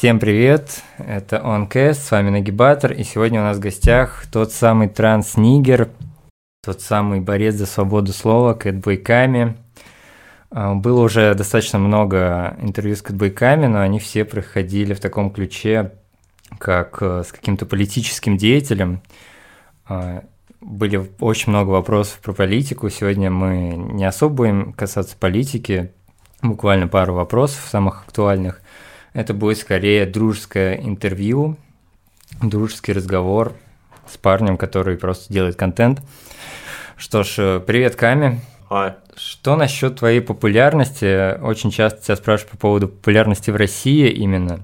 Всем привет, это OnCast, с вами Нагибатор, и сегодня у нас в гостях тот самый транс-нигер, тот самый борец за свободу слова Кэтбой Ками. Было уже достаточно много интервью с Кэтбой Ками, но они все проходили в таком ключе, как с каким-то политическим деятелем. Были очень много вопросов про политику, сегодня мы не особо будем касаться политики, буквально пару вопросов самых актуальных. Это будет скорее дружеское интервью, дружеский разговор с парнем, который просто делает контент. Что ж, привет, Ками. Hi. Что насчет твоей популярности? Очень часто тебя спрашивают по поводу популярности в России именно.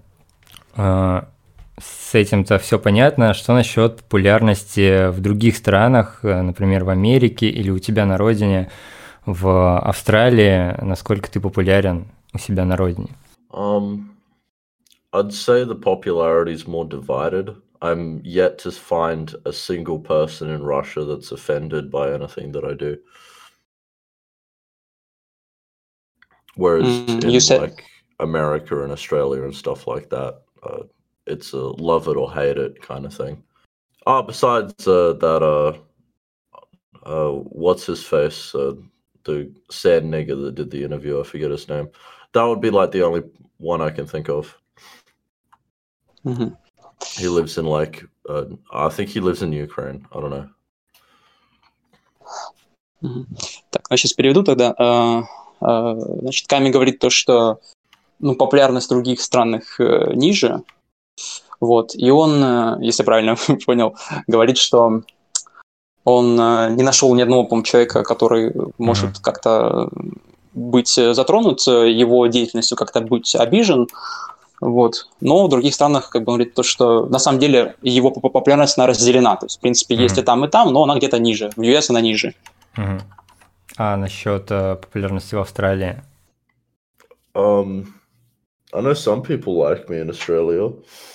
С этим-то все понятно. Что насчет популярности в других странах, например, в Америке или у тебя на родине, в Австралии? Насколько ты популярен у себя на родине? I'd say the popularity is more divided. I'm yet to find a single person in Russia that's offended by anything that I do. Whereas in like America and Australia and stuff like that, it's a love it or hate it kind of thing. Besides that, what's his face? The sad nigger that did the interview, I forget his name. That would be like the only one I can think of. Mm-hmm. He lives in like, I think he lives in Ukraine. I don't know. Mm-hmm. Так, я сейчас переведу тогда. Значит, Ками говорит то, что популярность в других странах ниже. Вот. И он, если правильно понял, говорит, что он не нашел ни одного, по-моему, человека, который может как-то быть затронут его деятельностью, как-то быть обижен. Вот. Но в других странах, как бы, он говорит, то, что на самом деле его популярность она разделена. То есть, в принципе, есть и там, но она где-то ниже. В US она ниже. А насчет популярности в Австралии? I know some people like me in Australia.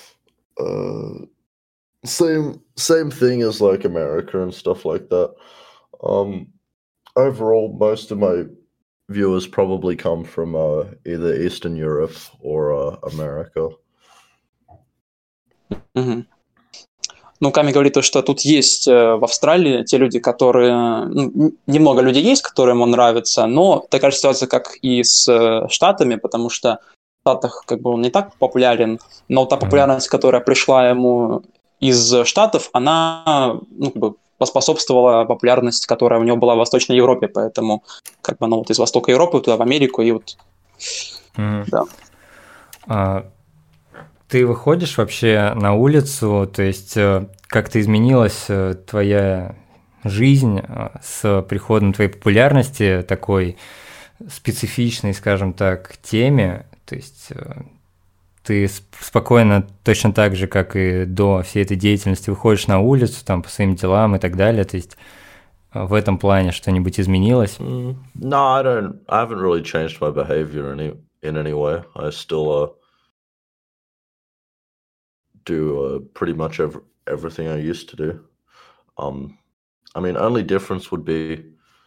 Same thing as like America and stuff like that. Overall, most of my viewers probably come from either Eastern Europe or America. Mm-hmm. Ками говорит, что тут есть в Австралии те люди, которые... немного людей есть, которым он нравится, но такая же ситуация, как и с Штатами, потому что в Штатах как бы он не так популярен, но та популярность, которая пришла ему из Штатов, она поспособствовала популярности, которая у него была в Восточной Европе, поэтому как бы из Востока Европы туда в Америку и вот... Да. Ты выходишь вообще на улицу, то есть как-то изменилась твоя жизнь с приходом твоей популярности, такой специфичной, скажем так, теме, то есть ты спокойно, точно так же, как и до всей этой деятельности, выходишь на улицу там по своим делам и так далее, то есть в этом плане что-нибудь изменилось? No, I haven't really changed my behavior in any way. I still do pretty much everything I used to do. I mean, only difference would be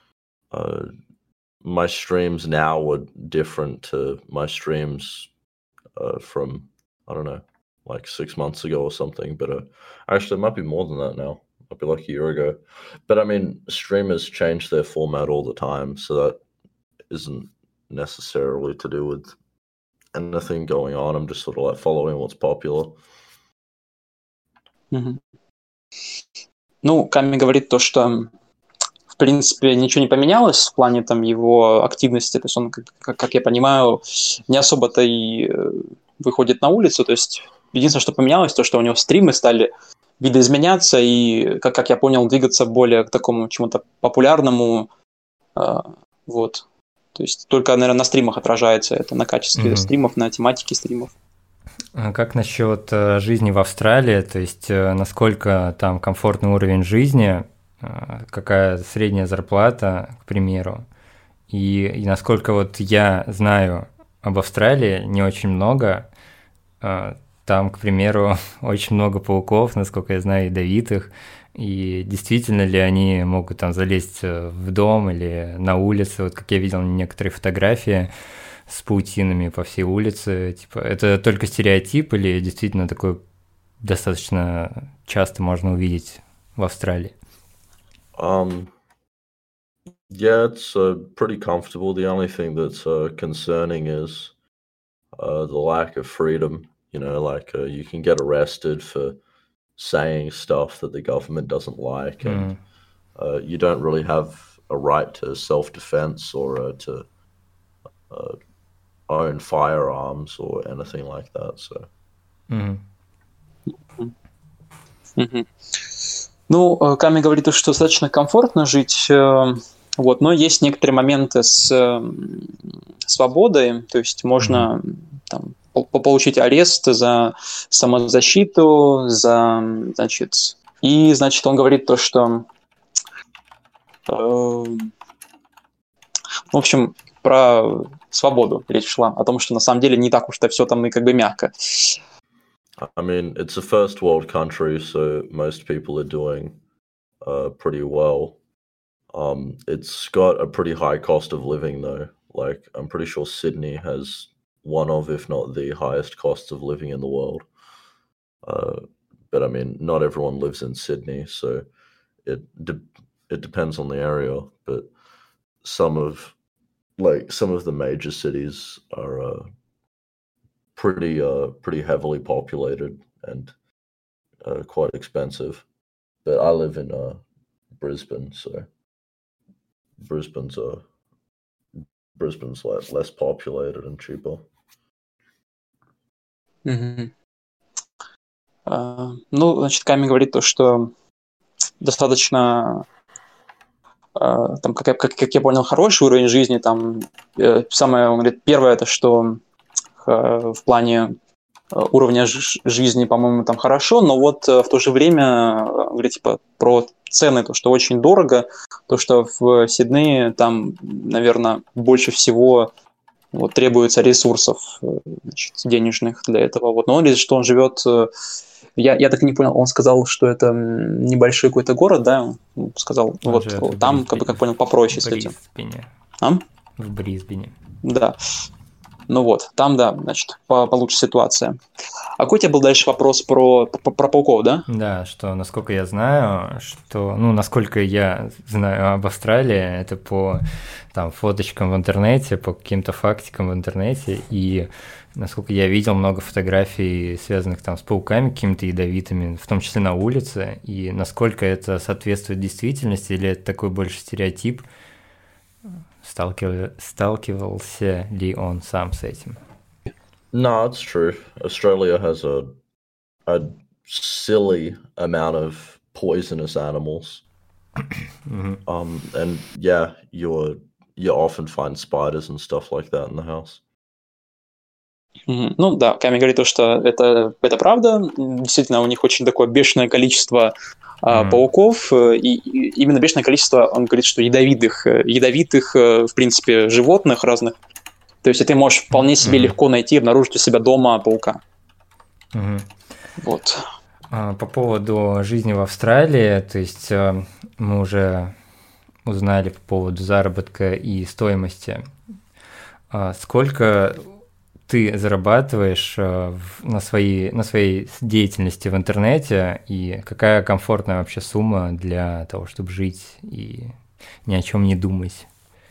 my streams now were different to my streams from, I don't know, like 6 months ago or something. But actually, it might be more than that now. It might be like a year ago. But I mean, streamers change their format all the time, so that isn't necessarily to do with anything going on. I'm just sort of like following what's popular. Ками говорит то, что в принципе ничего не поменялось в плане там его активности, то есть он, как я понимаю, не особо-то и выходит на улицу, то есть единственное, что поменялось, то, что у него стримы стали видоизменяться и, как я понял, двигаться более к такому чему-то популярному, вот, то есть только, наверное, на стримах отражается это, на качестве стримов, на тематике стримов. А как насчет жизни в Австралии, то есть насколько там комфортный уровень жизни, какая средняя зарплата, к примеру, и насколько вот я знаю об Австралии не очень много, там, к примеру, очень много пауков, насколько я знаю, ядовитых, и действительно ли они могут там залезть в дом или на улицу, вот как я видел некоторые фотографии, с паутинами по всей улице. Типа, это только стереотип или действительно такое достаточно часто можно увидеть в Австралии? Yeah, it's pretty comfortable. The only thing that's concerning is the lack of freedom. You know, like you can get arrested for saying stuff that the government doesn't like, and you don't really have a right to self-defense or to own firearms or anything like that. So. Мгм. Ну, Ками говорит, что достаточно комфортно жить, вот, но есть некоторые моменты с свободой, то есть можно там, получить арест за самозащиту, значит, он говорит то, что, в общем, про свободу речь шла, о том, что на самом деле не так уж-то все там и как бы мягко. I mean, it's a first world country, so most people are doing pretty well. It's got a pretty high cost of living, though. Like, I'm pretty sure Sydney has one of, if not the highest costs of living in the world. But I mean, not everyone lives in Sydney, so it depends on the area. But some of the major cities are pretty heavily populated and quite expensive. But I live in Brisbane, so Brisbane's less populated and cheaper. Мгм. Ну, значит, Ками говорит то, что достаточно, там, как я понял, хороший уровень жизни. Там самое, он говорит, первое, это что в плане уровня жизни, по-моему, там хорошо, но вот в то же время, говорит, типа, про цены, то, что очень дорого, то, что в Сиднее там, наверное, больше всего вот, требуется ресурсов, значит, денежных для этого. Вот. Но он говорит, что он живет... Я так и не понял, он сказал, что это небольшой какой-то город, да? Он сказал, Он вот живет там, как понял, попроще с этим. В Брисбене. Да. Ну вот, там, да, значит, получше ситуация. А какой у тебя был дальше вопрос про пауков, да? Да, что, насколько я знаю, насколько я знаю об Австралии, это по там фоточкам в интернете, по каким-то фактикам в интернете, и насколько я видел много фотографий, связанных там с пауками какими-то ядовитыми, в том числе на улице, и насколько это соответствует действительности, или это такой больше стереотип, сталкивался ли он сам с этим? No, it's true. Australia has a silly amount of poisonous animals. And yeah, you often find spiders and stuff like that in the house. Ну да, Ками говорит то, что это правда. Действительно, у них очень такое бешеное количество пауков, и именно бешеное количество, он говорит, что ядовитых, в принципе, животных разных. То есть ты можешь вполне себе легко найти, обнаружить у себя дома паука. Вот. По поводу жизни в Австралии, то есть мы уже узнали по поводу заработка и стоимости. Сколько ты зарабатываешь на своей деятельности в интернете, и какая комфортная вообще сумма для того, чтобы жить и ни о чем не думать?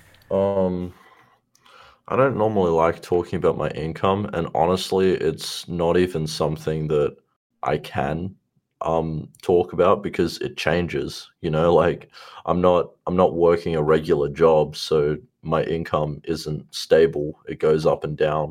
I don't normally like talking about my income, and honestly, it's not even something that I can talk about because it changes. You know, like I'm not working a regular job, so my income isn't stable. It goes up and down.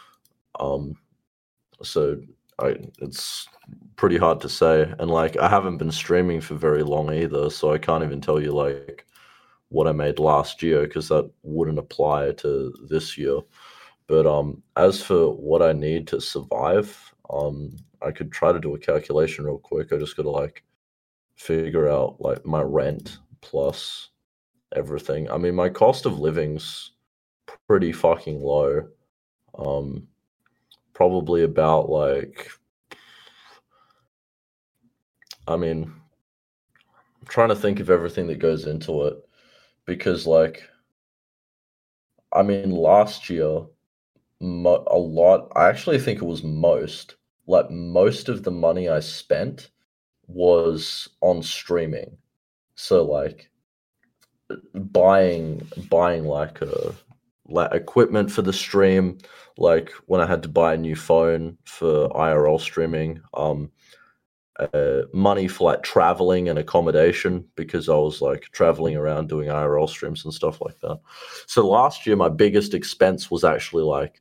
So it's pretty hard to say, and like I haven't been streaming for very long either, so I can't even tell you like what I made last year because that wouldn't apply to this year. But as for what I need to survive, I could try to do a calculation real quick. I just gotta like figure out like my rent plus everything. I mean, my cost of living's pretty fucking low. Probably about like, I mean, I'm trying to think of everything that goes into it because like, I mean, last year a lot. I actually think it was most. Like most of the money I spent was on streaming. So like buying like equipment for the stream, like when I had to buy a new phone for IRL streaming, money for like traveling and accommodation because I was like traveling around doing IRL streams and stuff like that. So last year my biggest expense was actually like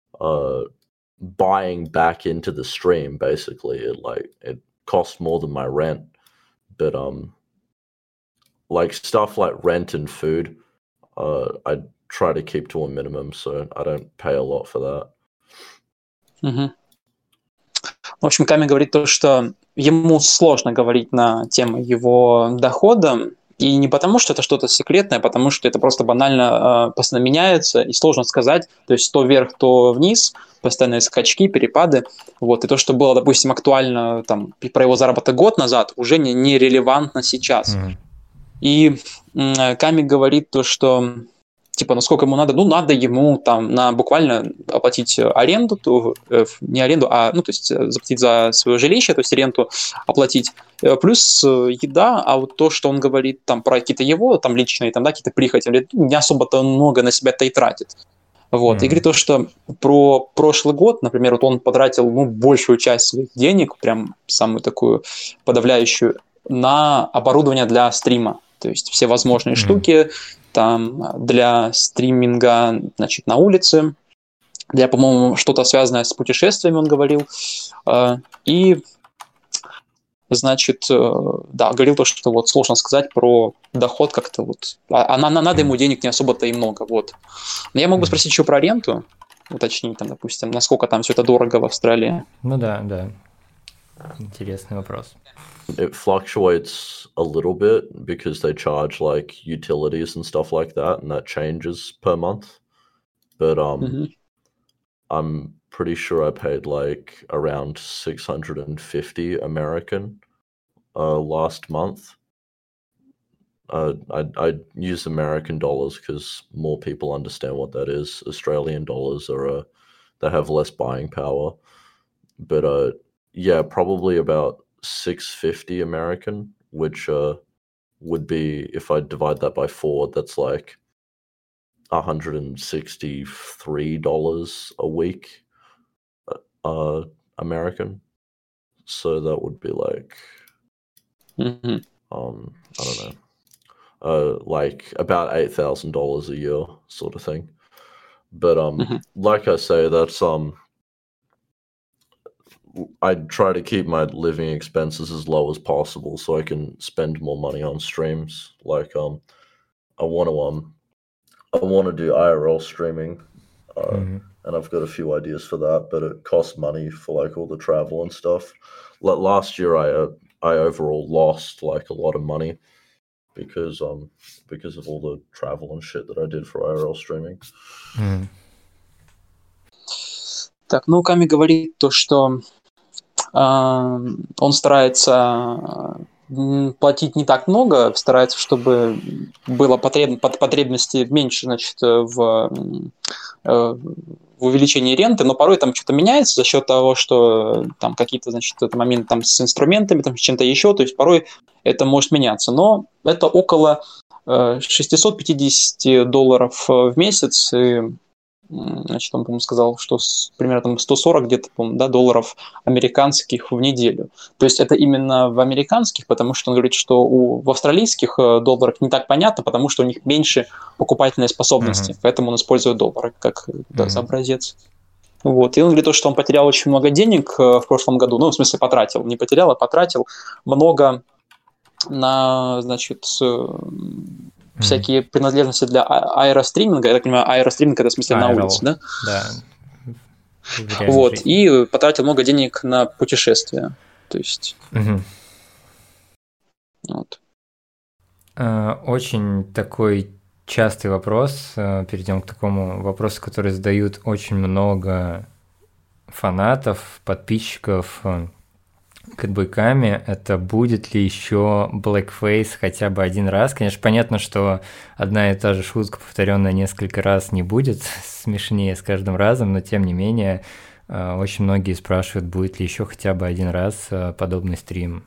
buying back into the stream. Basically it cost more than my rent, but like stuff like rent and food I try to keep to a minimum, so I don't pay a lot for that. Мгм. В общем, Ками говорит то, что ему сложно говорить на тему его дохода, и не потому, что это что-то секретное, а потому что это просто банально постоянно меняется, и сложно сказать, то есть то вверх, то вниз, постоянные скачки, перепады, вот, и то, что было, допустим, актуально там про его заработок год назад, уже не релевантно сейчас. И Ками говорит то, что типа, насколько ему надо, надо ему там буквально оплатить аренду, не аренду, а, то есть заплатить за свое жилище, то есть ренту оплатить, плюс еда, а вот то, что он говорит там про какие-то его там личные, там, да, какие-то прихоти, не особо-то много на себя-то и тратит. Вот, и говорит то, что про прошлый год, например, вот он потратил, большую часть своих денег, прям самую такую подавляющую, на оборудование для стрима, то есть все возможные штуки, там для стриминга, значит, на улице, для, по-моему, что-то связанное с путешествиями, он говорил, и, значит, да, говорил то, что вот сложно сказать про доход как-то вот, надо ему денег не особо-то и много, вот. Но я мог бы спросить еще про аренду, уточнить там, допустим, насколько там все это дорого в Австралии. Ну да, интересный вопрос. It fluctuates a little bit because they charge like utilities and stuff like that, and that changes per month. But I'm pretty sure I paid like around 650 American last month. I use American dollars because more people understand what that is. Australian dollars are they have less buying power. But yeah, probably about 650 American, which would be, if I divide that by 4, that's like $163 a week American. So that would be like I don't know, like about $8,000 a year sort of thing. But like I say, that's I try to keep my living expenses as low as possible so I can spend more money on streams. Like I want to do IRL streaming, and I've got a few ideas for that, but it costs money for like all the travel and stuff. Like last year, I overall lost like a lot of money because of all the travel and shit that I did for IRL streaming. Так, Ками говорит то, что он старается платить не так много, старается, чтобы было потребности меньше, значит, в увеличении ренты, но порой там что-то меняется за счет того, что там какие-то, значит, моменты там с инструментами, там с чем-то еще, то есть порой это может меняться, но это около $650 в месяц, и, значит, он, по-моему, сказал, что примерно там 140 где-то, по-моему, да, долларов американских в неделю. То есть это именно в американских, потому что он говорит, что в австралийских долларах не так понятно, потому что у них меньше покупательной способности, поэтому он использует доллары как за образец. Вот. И он говорит, что он потерял очень много денег в прошлом году, в смысле потратил, не потерял, а потратил много на, значит, всякие принадлежности для аэростриминга. Я так понимаю, аэростриминг — это в смысле на улице, да? Да. Вот, и потратил много денег на путешествия. То есть... Вот. Очень такой частый вопрос. Перейдем к такому вопросу, который задают очень много фанатов, подписчиков Кэтбойками, это будет ли еще blackface хотя бы один раз? Конечно, понятно, что одна и та же шутка, повторенная несколько раз, не будет смешнее с каждым разом, но тем не менее очень многие спрашивают, будет ли еще хотя бы один раз подобный стрим.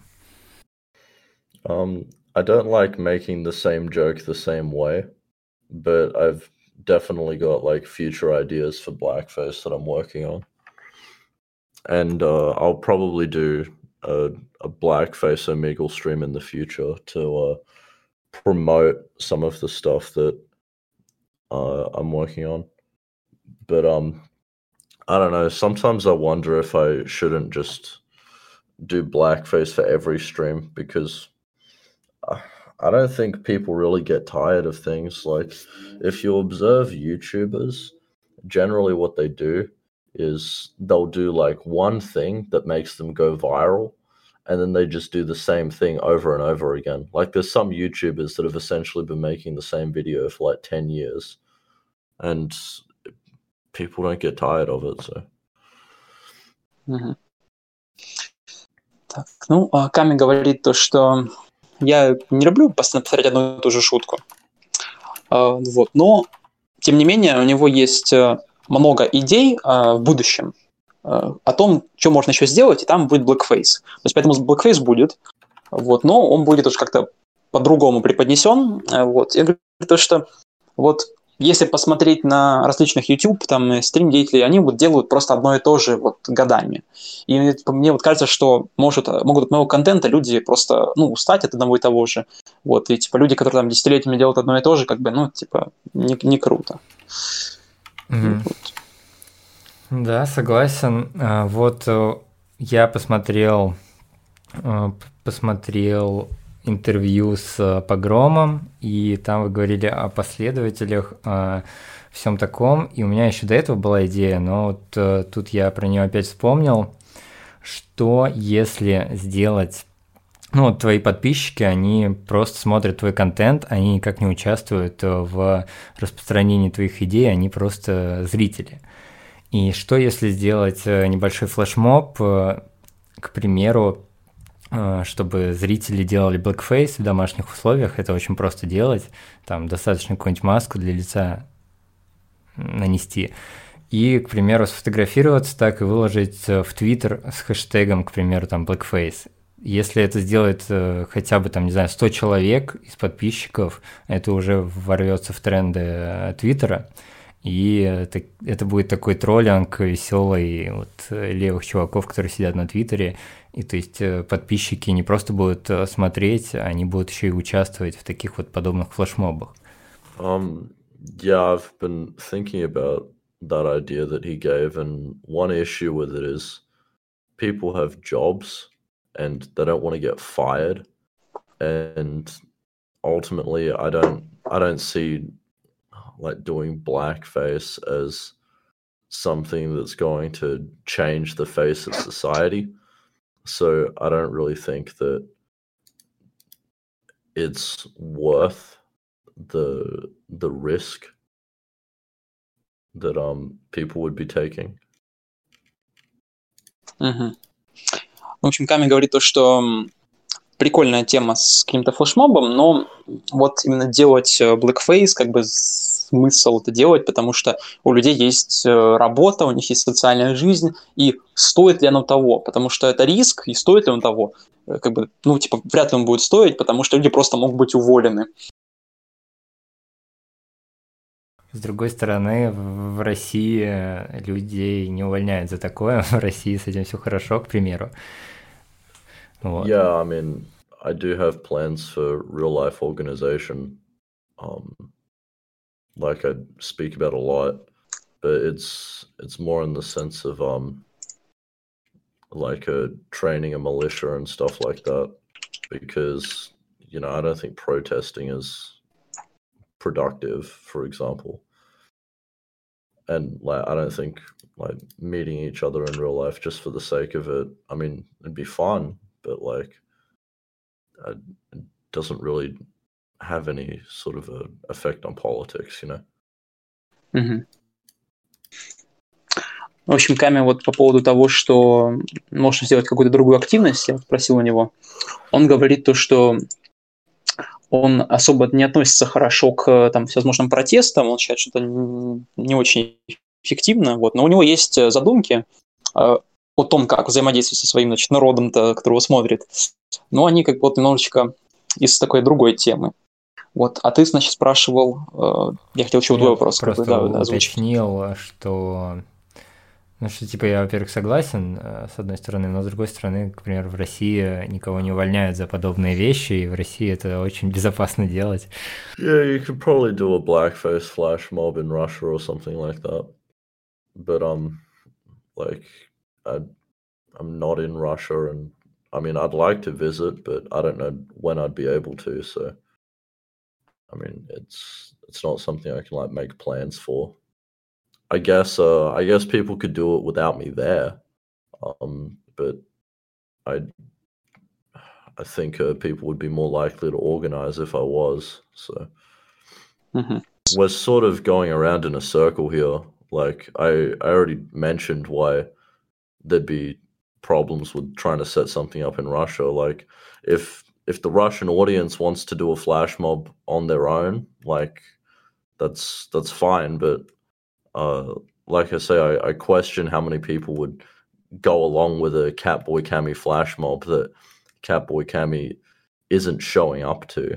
I don't like making the same joke the same way, but I've definitely got like future ideas for blackface that I'm working on. And I'll probably do a blackface Omegle stream in the future to promote some of the stuff that I'm working on. But I don't know. Sometimes I wonder if I shouldn't just do blackface for every stream, because I don't think people really get tired of things. Like, if you observe YouTubers, generally what they do is they'll do like one thing that makes them go viral, and then they just do the same thing over and over again. Like, there's some YouTubers that have essentially been making the same video for like 10 years, and people don't get tired of it, so. Мгм. Так, ну, Ками говорит то, что я не люблю постоянно повторять одну и ту же шутку. Вот. Но, тем не менее, у него есть много идей в будущем о том, что можно еще сделать, и там будет blackface. То есть поэтому blackface будет, вот, но он будет уже как-то по-другому преподнесен. Вот. Я говорю то, что вот если посмотреть на различных YouTube, там, стрим-деятелей, они вот делают просто одно и то же вот годами. И мне вот кажется, что могут от моего контента люди просто, ну, устать от одного и того же. Вот, и, типа, люди, которые там десятилетиями делают одно и то же, как бы, ну, типа, не круто. Мгм. Да, согласен. Вот я посмотрел интервью с Погромом, и там вы говорили о последователях, о всем таком, и у меня еще до этого была идея, но вот тут я про нее опять вспомнил, что если сделать... Ну, вот твои подписчики, они просто смотрят твой контент, они никак не участвуют в распространении твоих идей, они просто зрители. И что если сделать небольшой флешмоб, к примеру, чтобы зрители делали blackface в домашних условиях, это очень просто делать, там достаточно какую-нибудь маску для лица нанести, и, к примеру, сфотографироваться так и выложить в Твиттер с хэштегом, к примеру, там blackface. Если это сделает хотя бы, там, не знаю, 100 человек из подписчиков, это уже ворвется в тренды Твиттера, и это будет такой троллинг веселый вот, левых чуваков, которые сидят на Твиттере. И то есть подписчики не просто будут смотреть, они будут еще и участвовать в таких вот подобных флешмобах. Yeah, I've been thinking about that idea that he gave, and one issue with it is people have jobs and they don't want to get fired, and ultimately I don't see like doing blackface as something that's going to change the face of society. So I don't really think that it's worth the risk that people would be taking. Мгм. В общем, Ками говорит то, что прикольная тема с каким-то флешмобом, но вот именно делать blackface, как бы смысл это делать, потому что у людей есть работа, у них есть социальная жизнь, и стоит ли оно того, потому что это риск, и стоит ли он того, как бы, ну, типа, вряд ли он будет стоить, потому что люди просто могут быть уволены. С другой стороны, в России людей не увольняют за такое, в России с этим все хорошо, к примеру. Вот. Yeah, I mean, I do have plans for real life organization, like I speak about a lot, but it's more in the sense of like training a militia and stuff like that, because I don't think protesting is productive, for example, and like I don't think like meeting each other in real life just for the sake of it, I mean, it'd be fun, but like it doesn't really have any sort of a effect on politics, Мгм. В общем, Ками вот по поводу того, что можно сделать какую-то другую активность, я спросил у него. Он говорит то, что он особо не относится хорошо к там, всевозможным протестам, он считает, что это не очень эффективно, вот. Но у него есть задумки о том, как взаимодействовать со своим, значит, народом, которого смотрит. Но они как бы вот немножечко из такой другой темы. Вот. А ты, значит, спрашивал, я хотел еще твой вопрос просто уточнил, что... Ну, что, типа, я, во-первых, согласен, с одной стороны, но с другой стороны, к примеру, в России никого не увольняют за подобные вещи, и в России это очень безопасно делать. Yeah, you could probably do a blackface flash mob in Russia or something like that. But, like, I'm not in Russia, and, I mean, I'd like to visit, but I don't know when I'd be able to, so, I mean, it's not something I can, like, make plans for. I guess people could do it without me there, but I think people would be more likely to organize if I was. So we're sort of going around in a circle here. Like I already mentioned why there'd be problems with trying to set something up in Russia. Like if the Russian audience wants to do a flash mob on their own, like that's fine, but like I say, I question how many people would go along with a Catboy Cammy flash mob that Catboy Cammy isn't showing up to.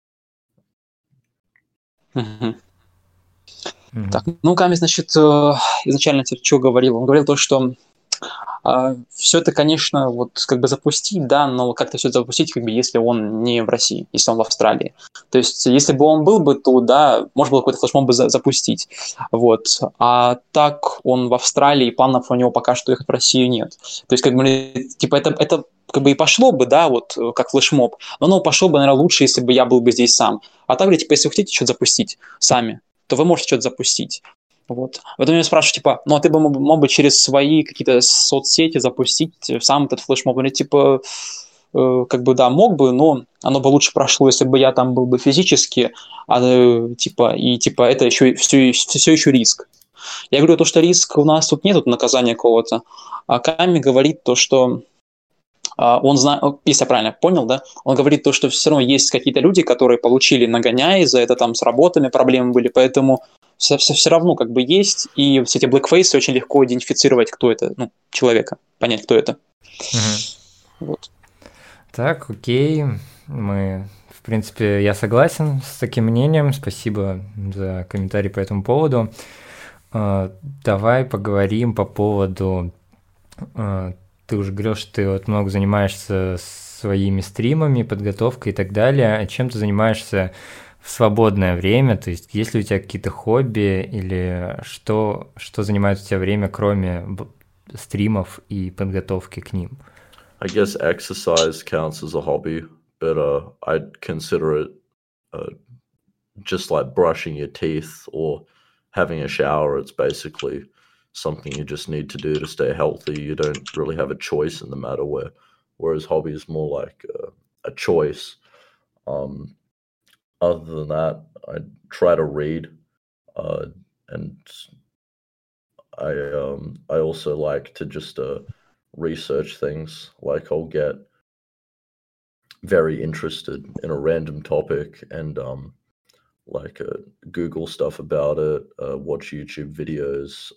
Так, ну, Ками, значит, изначально что говорил? Он говорил то, что все это, конечно, вот как бы запустить, да, но как-то все это запустить, как бы, если он не в России, если он в Австралии. То есть, если бы он был бы, то, да, можно было какой-то флешмоб бы запустить. Вот. А так он в Австралии, и планов у него пока что ехать в Россию нет. То есть, как бы, типа, это как бы и пошло бы, да, вот, как флешмоб, но оно пошло бы, наверное, лучше, если бы я был бы здесь сам. А так, типа, если вы хотите что-то запустить сами, то вы можете что-то запустить. Вот. Потом меня спрашивают, типа, ну, а ты бы мог бы через свои какие-то соцсети запустить сам этот флешмоб? Или, типа, как бы, да, мог бы, но оно бы лучше прошло, если бы я там был бы физически, типа, и, типа, это еще все еще риск. Я говорю, то, что риск у нас тут нет наказания какого-то, а Ками говорит то, что он знает, если я правильно понял, да, он говорит то, что все равно есть какие-то люди, которые получили нагоняй, за это там с работами проблемы были, поэтому все равно как бы есть, и все эти блэкфейсы очень легко идентифицировать, кто это, ну, человека, понять, кто это. Вот. Так, окей, мы, в принципе, я согласен с таким мнением, спасибо за комментарий по этому поводу. Давай поговорим по поводу... Ты уже говорил, что ты вот много занимаешься своими стримами, подготовкой и так далее. А чем ты занимаешься в свободное время? То есть есть ли у тебя какие-то хобби или что занимает у тебя время, кроме стримов и подготовки к ним? I guess exercise counts as a hobby, but I'd consider it just like brushing your teeth or having a shower. It's basically something you just need to do to stay healthy. You don't really have a choice in the matter, whereas hobby is more like a choice. Other than that, I try to read, and I also like to just research things. Like I'll get very interested in a random topic and like Google stuff about it, watch YouTube videos,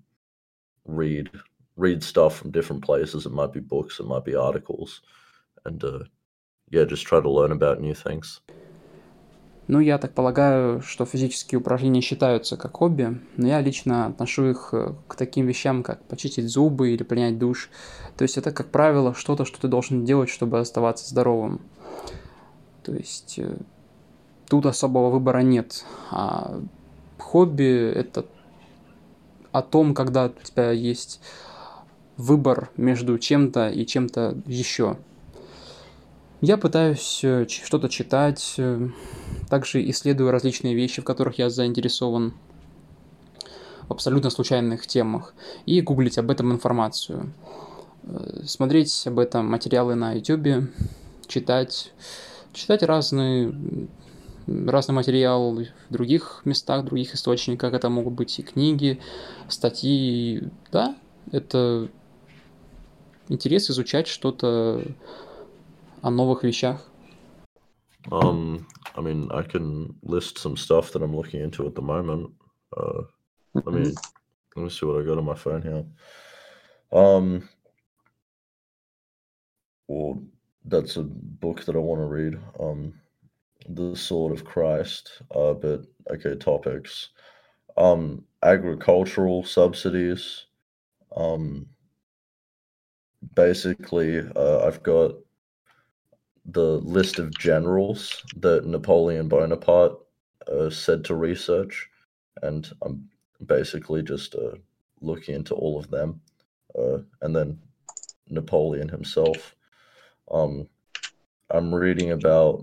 read stuff from different places. It might be books, it might be articles, and just try to learn about new things. Ну, я так полагаю, что физические упражнения считаются как хобби, но я лично отношу их к таким вещам, как почистить зубы или принять душ. То есть это, как правило, что-то, что ты должен делать, чтобы оставаться здоровым. То есть тут особого выбора нет. А хобби – это о том, когда у тебя есть выбор между чем-то и чем-то еще. Я пытаюсь что-то читать, также исследую различные вещи, в которых я заинтересован, в абсолютно случайных темах, и гуглить об этом информацию, смотреть об этом материалы на YouTube, читать разные разный материал в других местах, в других источниках. Это могут быть и книги, статьи. Да, это интерес изучать что-то о новых вещах. I mean, I can list some stuff that I'm looking into at the moment. Let me see what I got on my phone here. Well, that's a book that I want to read. The Sword of Christ. But okay, topics. Agricultural subsidies. Basically, I've got the list of generals that Napoleon Bonaparte said to research, and I'm basically just looking into all of them, and then Napoleon himself. I'm reading about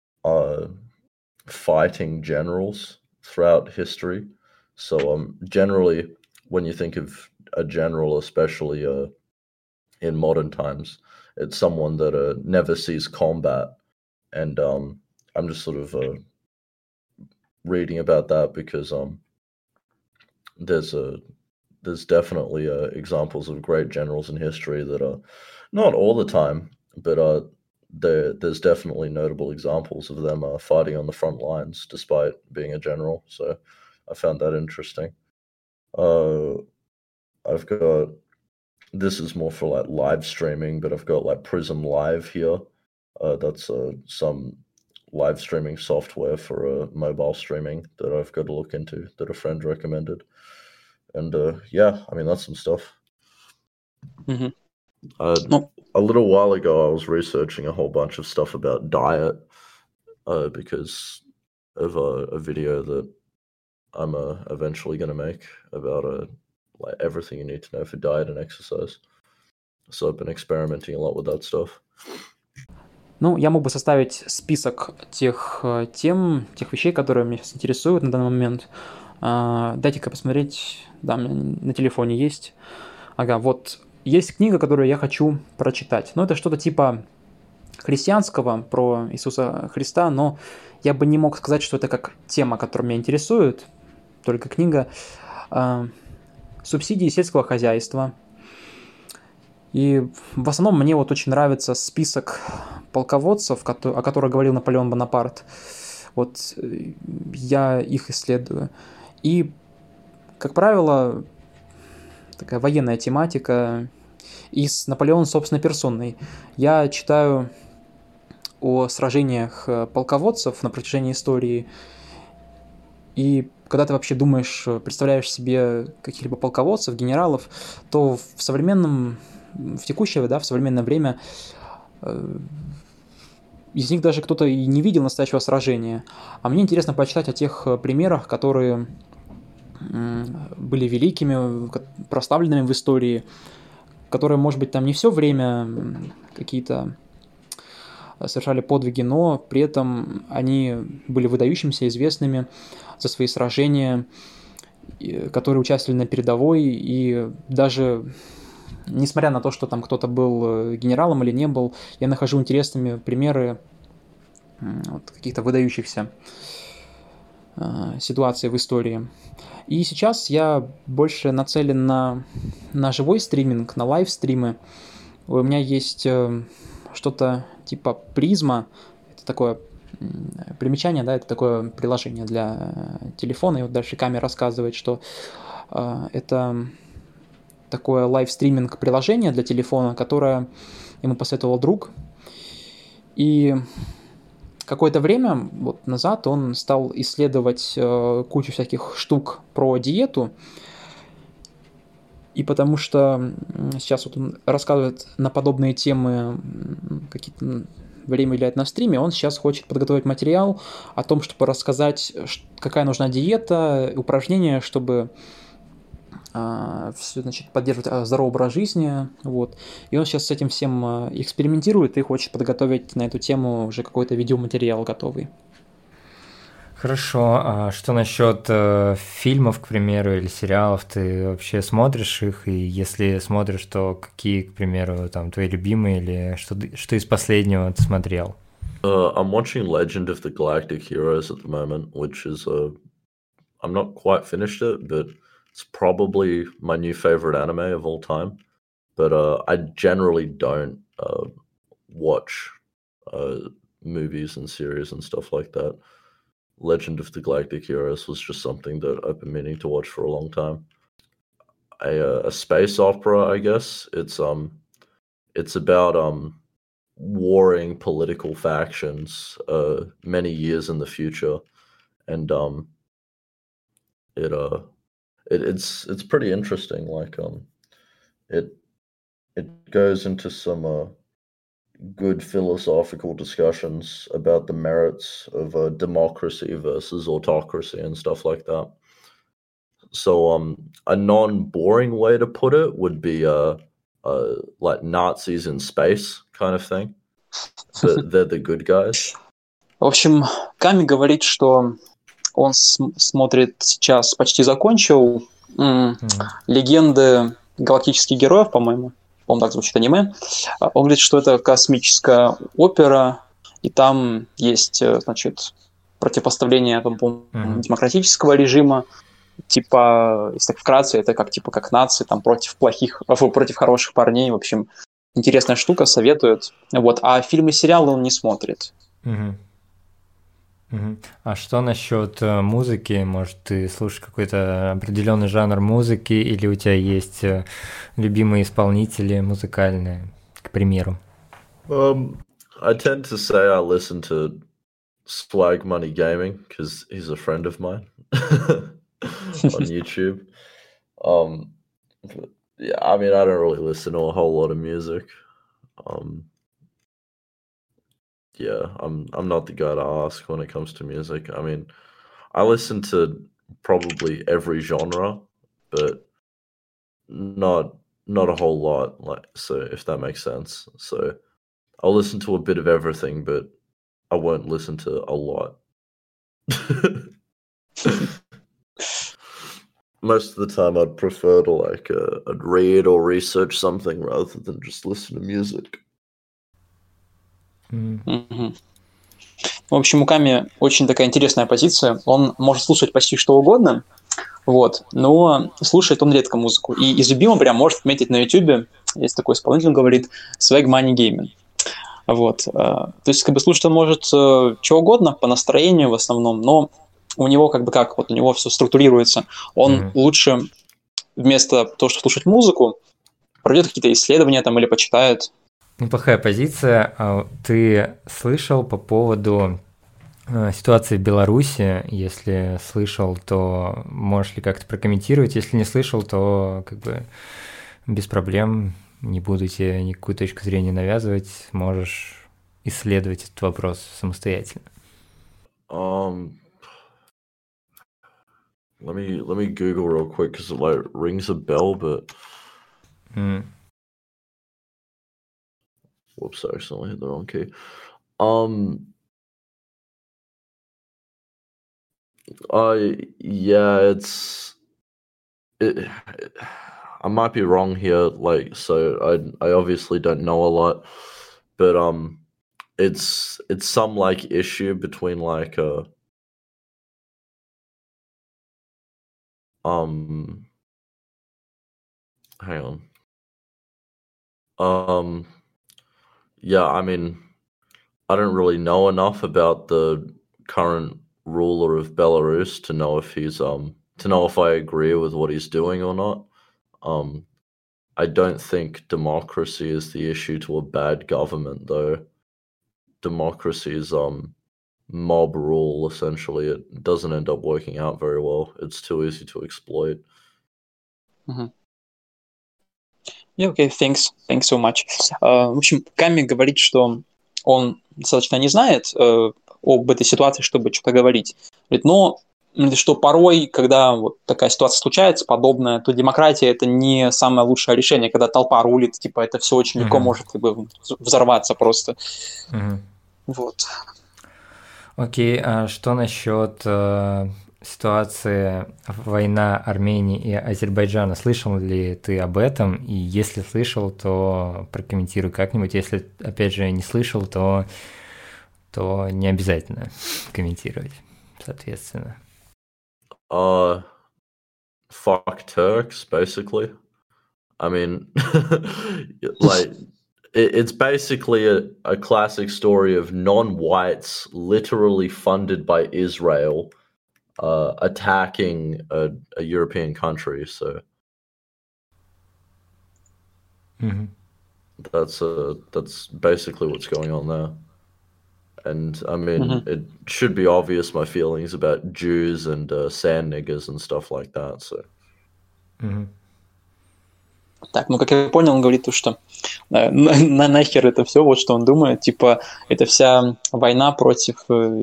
fighting generals throughout history. So generally, when you think of a general, especially in modern times, it's someone that never sees combat, and I'm just sort of reading about that because there's definitely examples of great generals in history that are not all the time, but there's definitely notable examples of them fighting on the front lines despite being a general. So I found that interesting. I've got, this is more for like live streaming, but I've got like Prism Live here. That's some live streaming software for mobile streaming that I've got to look into that a friend recommended. And yeah, I mean, that's some stuff. Мгм. A little while ago, I was researching a whole bunch of stuff about diet because of a video that I'm eventually going to make about like everything you need to know for diet and exercise. So I've been experimenting a lot with that stuff. Ну, я мог бы составить список тех тем, тех вещей, которые меня сейчас интересуют на данный момент. Дайте-ка посмотреть. Да, у меня на телефоне есть. Ага, вот есть книга, которую я хочу прочитать. Ну, это что-то типа христианского про Иисуса Христа, но я бы не мог сказать, что это как тема, которая меня интересует. Только книга «Субсидии сельского хозяйства». И в основном мне вот очень нравится список полководцев, о которых говорил Наполеон Бонапарт. Вот я их исследую. И, как правило, такая военная тематика и с Наполеоном собственной персоной. Я читаю о сражениях полководцев на протяжении истории. И когда ты вообще думаешь, представляешь себе каких-либо полководцев, генералов, то в текущее, да, в современное время из них даже кто-то и не видел настоящего сражения. А мне интересно почитать о тех примерах, которые были великими, прославленными в истории, которые, может быть, там не все время какие-то совершали подвиги, но при этом они были выдающимися, известными за свои сражения, которые участвовали на передовой, и даже несмотря на то, что там кто-то был генералом или не был, я нахожу интересными примеры вот, каких-то выдающихся ситуаций в истории. И сейчас я больше нацелен на живой стриминг, на лайв-стримы. У меня есть что-то типа Призма, это такое примечание, да, это такое приложение для телефона, и вот дальше Ками рассказывает, что это такое лайв-стриминг приложение для телефона, которое ему посоветовал друг. И какое-то время вот назад он стал исследовать кучу всяких штук про диету. И потому что сейчас вот он рассказывает на подобные темы, какие-то время уделяет на стриме, он сейчас хочет подготовить материал о том, чтобы рассказать, какая нужна диета, упражнения, чтобы все, значит, поддерживать здоровый образ жизни, вот. И он сейчас с этим всем экспериментирует и хочет подготовить на эту тему уже какой-то видеоматериал готовый. Хорошо, а что насчет фильмов, к примеру, или сериалов? Ты вообще смотришь их? И если смотришь, то какие, к примеру, там твои любимые или что из последнего ты смотрел? I'm watching Legend of the Galactic Heroes at the moment, which is I'm not quite finished it, but it's probably my new favorite anime of all time. But I generally don't watch movies and series and stuff like that. Legend of the Galactic Heroes was just something that I've been meaning to watch for a long time. A space opera, I guess. It's about warring political factions many years in the future, and it's pretty interesting. Like it it goes into some good philosophical discussions about the merits of democracy versus autocracy and stuff like that. So a non-boring way to put it would be like Nazis in space kind of thing. But they're the good guys. В общем, Ками говорит, что он смотрит сейчас, почти закончил «Легенды галактических героев», по-моему так звучит аниме. Он говорит, что это космическая опера, и там есть, значит, противопоставление демократического режима, типа, если так вкратце, это как нации, там, против хороших парней, в общем, интересная штука, советует. Вот. А фильмы и сериалы он не смотрит. А что насчет музыки? Может, ты слушаешь какой-то определенный жанр музыки, или у тебя есть любимые исполнители музыкальные, к примеру? I tend to say I listen to Swag Money Gaming because he's a friend of mine on YouTube. Yeah, I mean, I don't really listen to a whole lot of music. Yeah, I'm not the guy to ask when it comes to music. I mean, I listen to probably every genre, but not a whole lot. Like, so if that makes sense. So I'll listen to a bit of everything, but I won't listen to a lot. Most of the time, I'd prefer to I'd read or research something rather than just listen to music. В общем, у Ками очень такая интересная позиция. Он может слушать почти что угодно, вот, но слушает он редко музыку. И из любимого прям может отметить на YouTube, есть такой исполнитель, он говорит, Swag Money Gaming. Вот. То есть, слушать он может чего угодно, по настроению в основном, но у него у него все структурируется. Он лучше вместо того, чтобы слушать музыку, пройдет какие-то исследования там или почитает. Неплохая позиция. Ты слышал по поводу ситуации в Беларуси? Если слышал, то можешь ли как-то прокомментировать? Если не слышал, то без проблем, не буду тебе никакую точку зрения навязывать, можешь исследовать этот вопрос самостоятельно. Let me Google real quick because it rings a bell, but whoops, I accidentally hit the wrong key. Yeah, I might be wrong here, so I obviously don't know a lot, but it's some issue between hang on. Yeah, I mean, I don't really know enough about the current ruler of Belarus to know if he's to know if I agree with what he's doing or not. I don't think democracy is the issue to a bad government, though. Democracy is mob rule, essentially. It doesn't end up working out very well. It's too easy to exploit. Yeah, okay, thanks so much. В общем, Ками говорит, что он достаточно не знает об этой ситуации, чтобы что-то говорить. Но что порой, когда вот такая ситуация случается, подобная, то демократия — это не самое лучшее решение, когда толпа рулит, типа это все очень легко может взорваться просто. Вот. Окей, а что насчет ситуации война Армении и Азербайджана? Слышал ли ты об этом? И если слышал, то прокомментируй как-нибудь. Если, опять же, не слышал, то то не обязательно комментировать, соответственно. Fuck Turks, basically. I mean, like, it's basically a classic story of non-whites literally funded by Israel attacking a European country. So that's basically what's going on there. And I mean, it should be obvious my feelings about Jews and sand niggers and stuff like that. So. Так, ну, как я понял, он говорит, что нахер это все, вот что он думает, типа, это вся война против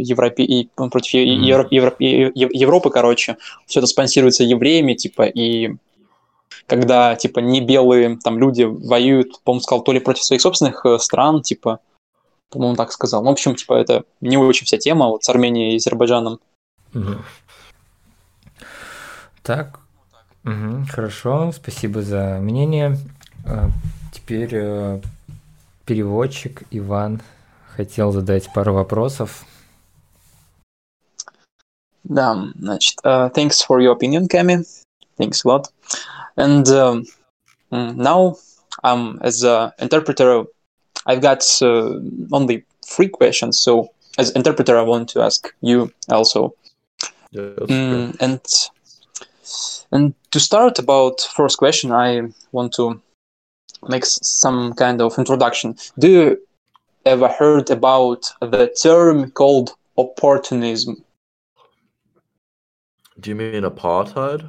Европы, короче, все это спонсируется евреями, типа, и когда, типа, не белые там люди воюют, по-моему, сказал, то ли против своих собственных стран, типа, по-моему, так сказал. Ну, в общем, типа, это не очень вся тема вот с Арменией и Азербайджаном. Так. Хорошо, спасибо за мнение. Теперь переводчик Иван хотел задать пару вопросов. Да, значит, thanks for your opinion, Cami. Thanks a lot. And now, as an interpreter, I've got only 3 questions. So, as interpreter, I want to ask you also. And to start about first question, I want to make some kind of introduction. Do you ever heard about the term called opportunism? Do you mean apartheid?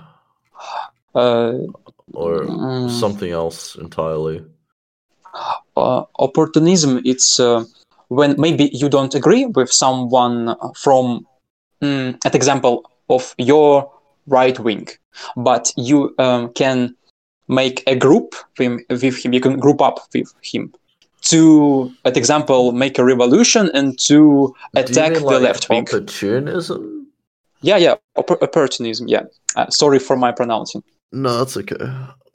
Or something else entirely? Opportunism, it's when maybe you don't agree with someone from, an example of your right wing, but you can make a group with him, you can group up with him to, at example, make a revolution and to attack the left wing. Opportunism? Yeah, opportunism, yeah. Sorry for my pronouncing. No, that's okay.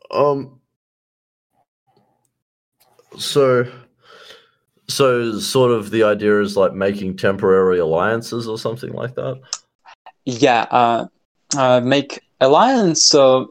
So sort of the idea is like making temporary alliances or something like that? Yeah, make alliance, still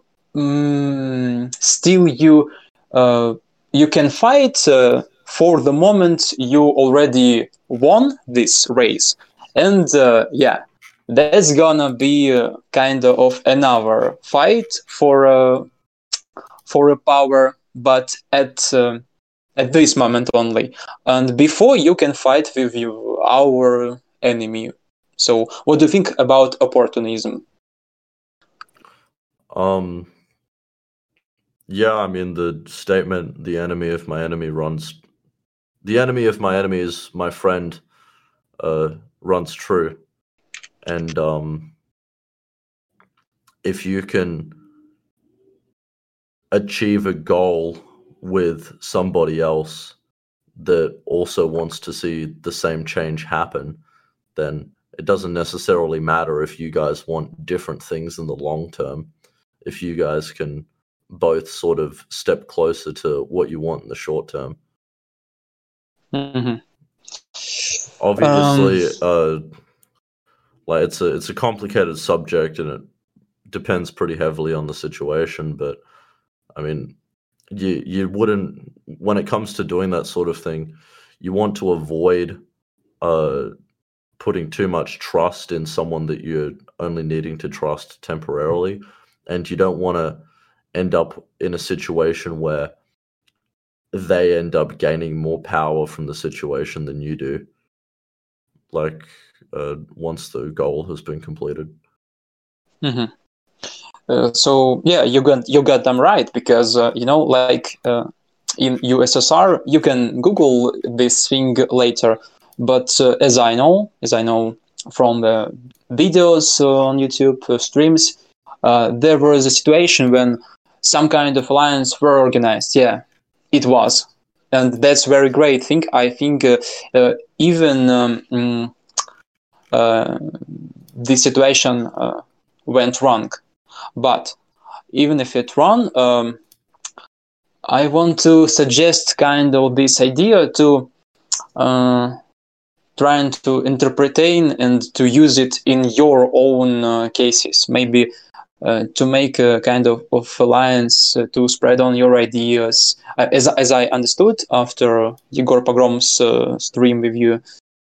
you can fight for the moment you already won this race. And that's gonna be kind of another fight for a power, but at this moment only. And before you can fight with our enemy. So what do you think about opportunism? Yeah, I mean, the statement, the enemy of my enemy is my friend, runs true. And if you can achieve a goal with somebody else that also wants to see the same change happen, then it doesn't necessarily matter if you guys want different things in the long term. If you guys can both sort of step closer to what you want in the short term. Obviously, like it's a complicated subject and it depends pretty heavily on the situation, but I mean, you wouldn't, when it comes to doing that sort of thing, you want to avoid putting too much trust in someone that you're only needing to trust temporarily, and you don't want to end up in a situation where they end up gaining more power from the situation than you do, like once the goal has been completed. So yeah, you got them right, because like in USSR, you can Google this thing later. But as I know from the videos on YouTube streams, there was a situation when some kind of alliance were organized. Yeah, it was, and that's very great thing. I think even the situation went wrong. But even if it wrong, I want to suggest kind of this idea to trying to interpretain and to use it in your own cases, maybe to make a kind of alliance to spread on your ideas. As I understood after Yegor Pogrom's stream with you,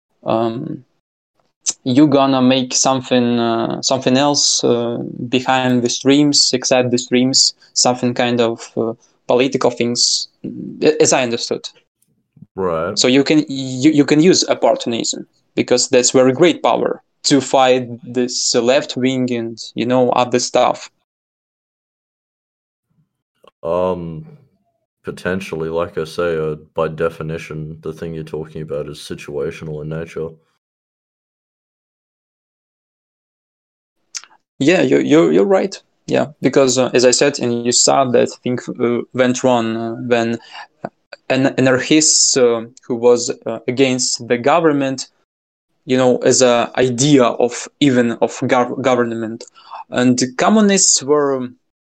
you're gonna make something else behind the streams, except the streams, something kind of political things, as I understood. Right. So you can use opportunism, because that's very great power to fight this left wing and other stuff. Potentially, like I say, by definition, the thing you're talking about is situational in nature. Yeah, you're right. Yeah, because as I said, and you saw that thing went wrong when an anarchist who was against the government, as an idea of government, and the communists were,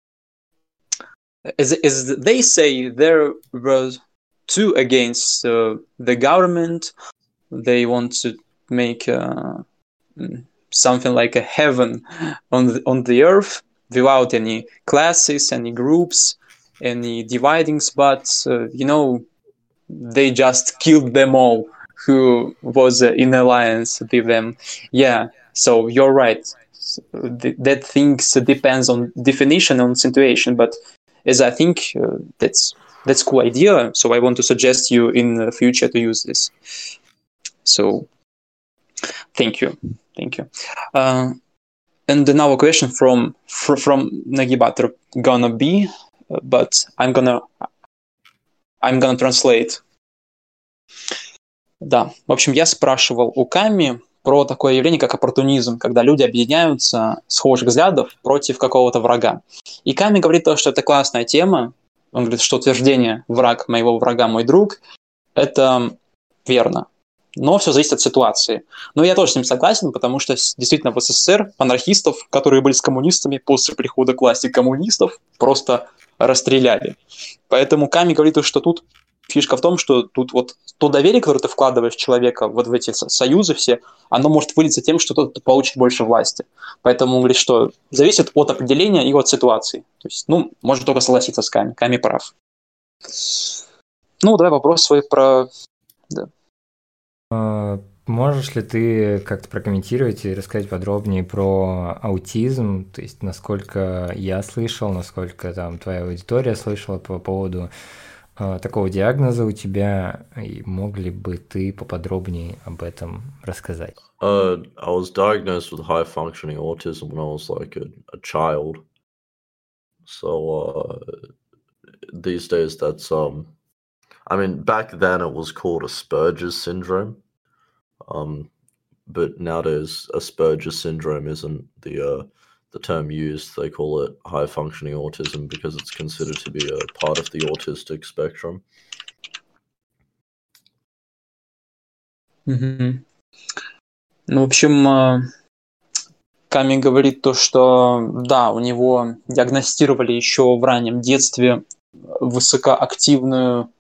as they say, there were two against the government. They want to make something like a heaven on the earth without any classes, any groups, any dividings, but they just killed them all who was in alliance with them. Yeah, so you're right. That things depends on definition, on situation, but as I think that's cool idea. So I want to suggest you in the future to use this. So thank you. And another question from Nagibator gonna be, but I'm gonna translate. Да, в общем, я спрашивал у Ками про такое явление, как оппортунизм, когда люди объединяются схожих взглядов против какого-то врага. И Ками говорит то, что это классная тема. Он говорит, что утверждение «враг моего врага мой друг» — это верно. Но все зависит от ситуации. Но я тоже с ним согласен, потому что действительно в СССР анархистов, которые были с коммунистами, после прихода к власти коммунистов просто расстреляли. Поэтому Ками говорит, что тут фишка в том, что тут вот то доверие, которое ты вкладываешь в человека, вот в эти союзы все, оно может вылиться тем, что тот получит больше власти. Поэтому он говорит, что зависит от определения и от ситуации. То есть, можно только согласиться с Ками. Ками прав. Давай вопрос свой про... Да. Можешь ли ты как-то прокомментировать и рассказать подробнее про аутизм, то есть насколько я слышал, насколько там твоя аудитория слышала по поводу такого диагноза у тебя, и мог ли бы ты поподробнее об этом рассказать? I was diagnosed with high-functioning autism when I was like a child. So these days that's back then it was called Asperger's syndrome. But nowadays Asperger's syndrome isn't the term used. They call it high-functioning autism because it's considered to be a part of the autistic spectrum. Mm-hmm. В общем, Ками говорит то, что да, у него диагностировали еще в раннем детстве высокоактивное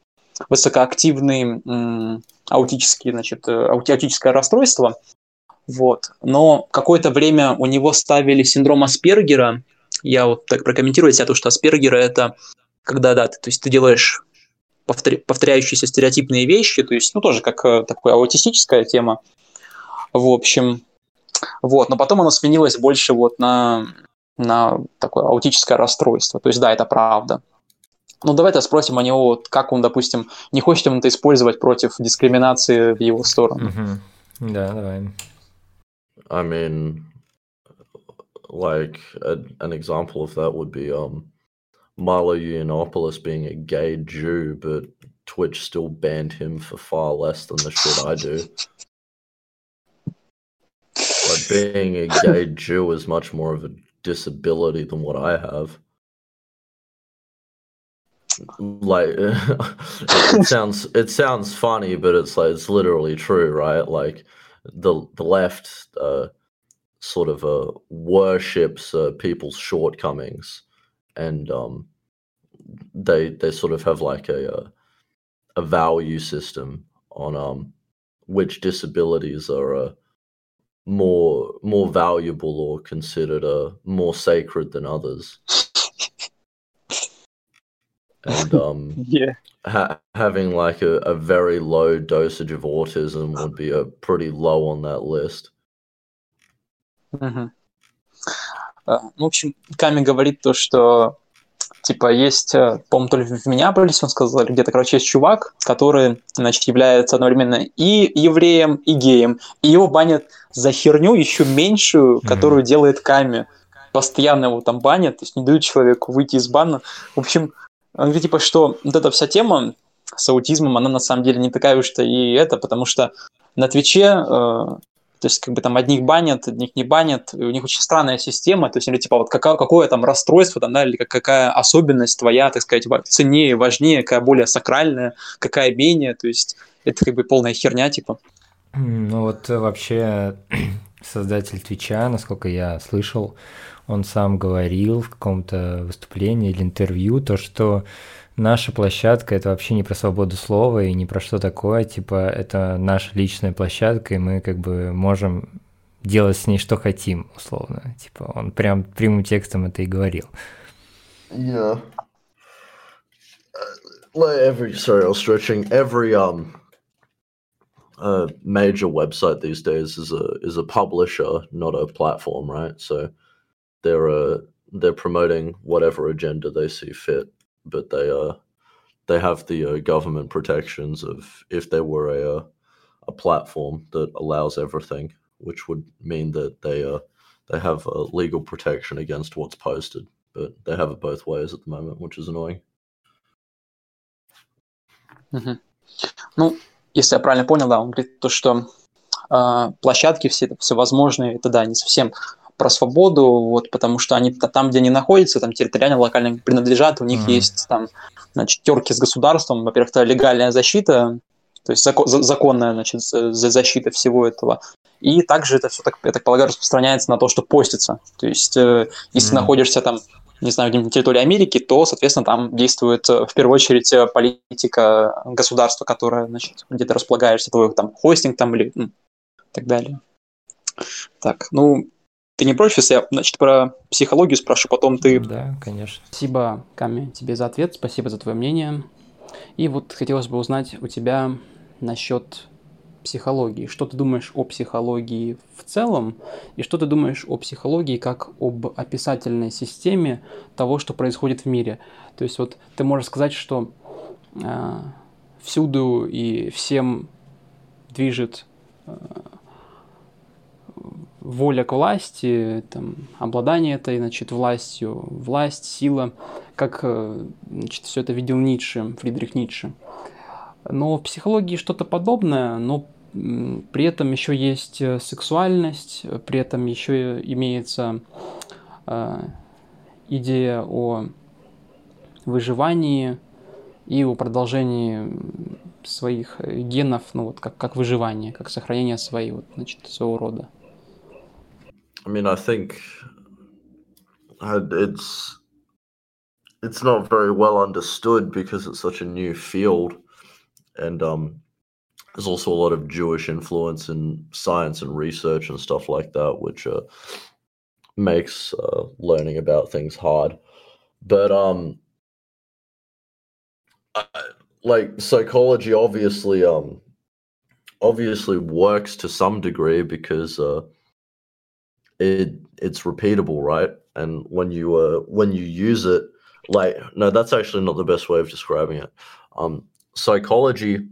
аутическое расстройство. Вот. Но какое-то время у него ставили синдром Аспергера. Я вот так прокомментирую себя, то, что Аспергера — это когда, да, то есть ты делаешь повторяющиеся стереотипные вещи, то есть, тоже как такая аутистическая тема. В общем, вот. Но потом оно сменилось больше вот на такое аутическое расстройство. То есть, да, это правда. Давайте спросим у него, как он, допустим, не хочет он это использовать против дискриминации в его сторону. Да, давай. Like an example of that would be Milo Yiannopoulos being a gay Jew, but Twitch still banned him for far less than the shit I do. Like, being a gay Jew is much more of a disability than what I have. Like, it sounds funny, but it's like, it's literally true, right? Like, the left sort of worships people's shortcomings, and they sort of have like a value system on which disabilities are more valuable or considered more sacred than others. And Yeah. having like a very low dosage of autism would be a pretty low on that list. Мгм. В общем, Ками говорит то, что типа есть, по-моему, то ли в Миннеаполисе он сказал, или где-то, короче, есть чувак, который, значит, является одновременно и евреем, и геем, и его банят за херню еще меньшую, которую делает Ками. Постоянно его там банят, то есть не дают человеку выйти из бана. В общем, он говорит, типа, что вот эта вся тема с аутизмом, она на самом деле не такая уж-то и это, потому что на Твиче то есть, как бы там одних банят, одних не банят, и у них очень странная система, то есть, или типа вот какое там расстройство, там, да, или какая особенность твоя, так сказать, ценнее, важнее, какая более сакральная, какая менее, то есть, это как бы полная херня, типа. Ну вот вообще создатель Твича, насколько я слышал, он сам говорил в каком-то выступлении или интервью, то, что наша площадка – это вообще не про свободу слова и не про что такое, типа это наша личная площадка, и мы как бы можем делать с ней что хотим, условно. Типа он прям прямым текстом это и говорил. Yeah. Sorry, I was stretching. Every major website these days is a publisher, not a platform, right? So they're promoting whatever agenda they see fit, but they have the government protections of if they were a platform that allows everything, which would mean that they have legal protection against what's posted, but they have it both ways at the moment, which is annoying. Угу. Ну, если я правильно понял, да, он говорит то, что площадки все возможные, это да, не совсем про свободу, вот, потому что они там, где они находятся, там территориально, локально принадлежат, у них есть там, значит, терки с государством, во-первых, это легальная защита, то есть законная, значит, защита всего этого, и также это все, я так полагаю, распространяется на то, что постится, то есть если ты находишься там, не знаю, где-нибудь на территории Америки, то, соответственно, там действует в первую очередь политика государства, которая, значит, где ты располагаешься, твой там хостинг там или так далее. Так, ну, ты не против, если я, значит, про психологию спрошу, потом ты... Да, конечно. Спасибо, Ками, тебе за ответ, спасибо за твое мнение. И вот хотелось бы узнать у тебя насчет психологии. Что ты думаешь о психологии в целом, и что ты думаешь о психологии как об описательной системе того, что происходит в мире? То есть вот ты можешь сказать, что всюду и всем движет воля к власти, там, обладание этой, значит, властью, власть, сила, как, значит, все это видел Ницше, Фридрих Ницше. Но в психологии что-то подобное, но при этом еще есть сексуальность, при этом еще имеется идея о выживании и о продолжении своих генов, ну вот как выживание, как сохранение своего рода. I mean, I think it's not very well understood because it's such a new field, and there's also a lot of Jewish influence in science and research and stuff like that, which makes learning about things hard. But like psychology obviously works to some degree because it's repeatable, right? And when you use it, like, no, that's actually not the best way of describing it. Psychology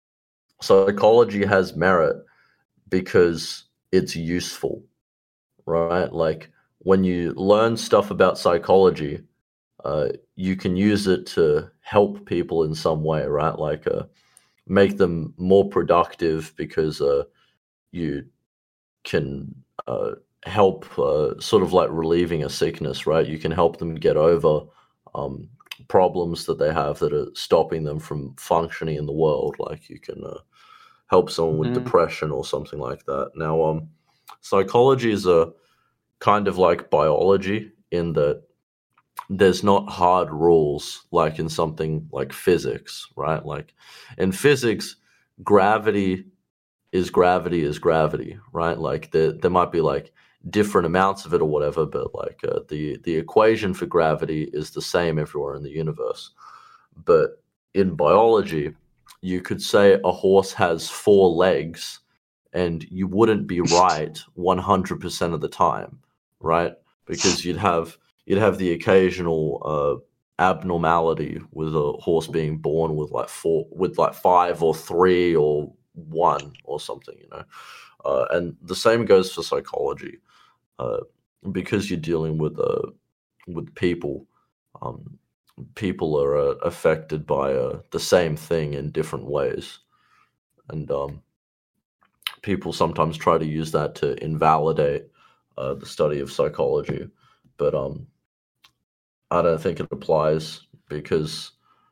has merit because it's useful, right? Like when you learn stuff about psychology, you can use it to help people in some way, right? Like make them more productive because you can help sort of like relieving a sickness, right? You can help them get over problems that they have that are stopping them from functioning in the world. Like you can help someone with depression or something like that. Now, psychology is a kind of like biology in that there's not hard rules like in something like physics, right? Like in physics, gravity is gravity, right? Like there might be like different amounts of it or whatever, but like the equation for gravity is the same everywhere in the universe. But in biology, you could say a horse has 4 legs, and you wouldn't be right 100% of the time, right? Because you'd have the occasional abnormality with a horse being born with like 5 or 3 or 1 or something, you know. And the same goes for psychology, because you're dealing with people. People are affected by the same thing in different ways, and people sometimes try to use that to invalidate the study of psychology, but I don't think it applies because,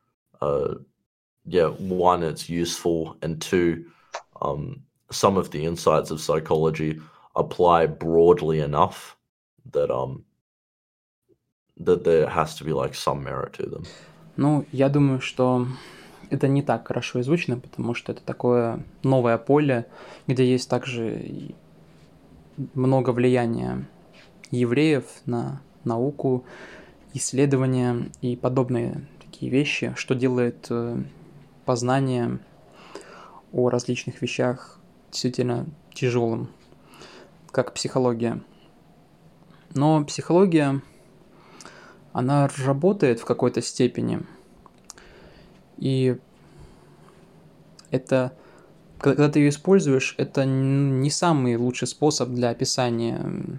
one, it's useful, and 2, some of the insights of psychology apply broadly enough that that there has to be like some merit to them. Ну, я думаю, что это не так хорошо изучено, потому что это такое новое поле, где есть также и много влияния евреев на науку, исследования и подобные такие вещи, что делает познание о различных вещах действительно тяжелым, как психология. Но психология, она работает в какой-то степени, и это, когда ты ее используешь, это не самый лучший способ для описания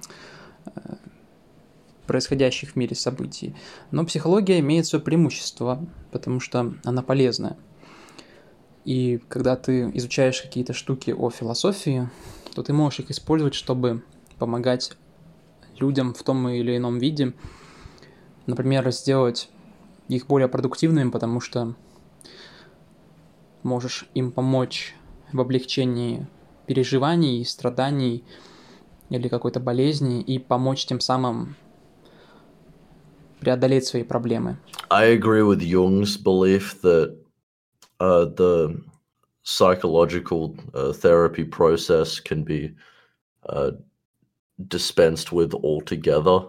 происходящих в мире событий. Но психология имеет свое преимущество, потому что она полезная. И когда ты изучаешь какие-то штуки о философии, то ты можешь их использовать, чтобы помогать людям в том или ином виде. Например, сделать их более продуктивными, потому что можешь им помочь в облегчении переживаний, страданий или какой-то болезни и помочь тем самым преодолеть свои проблемы. I agree with Jung's belief that the psychological therapy process can be dispensed with altogether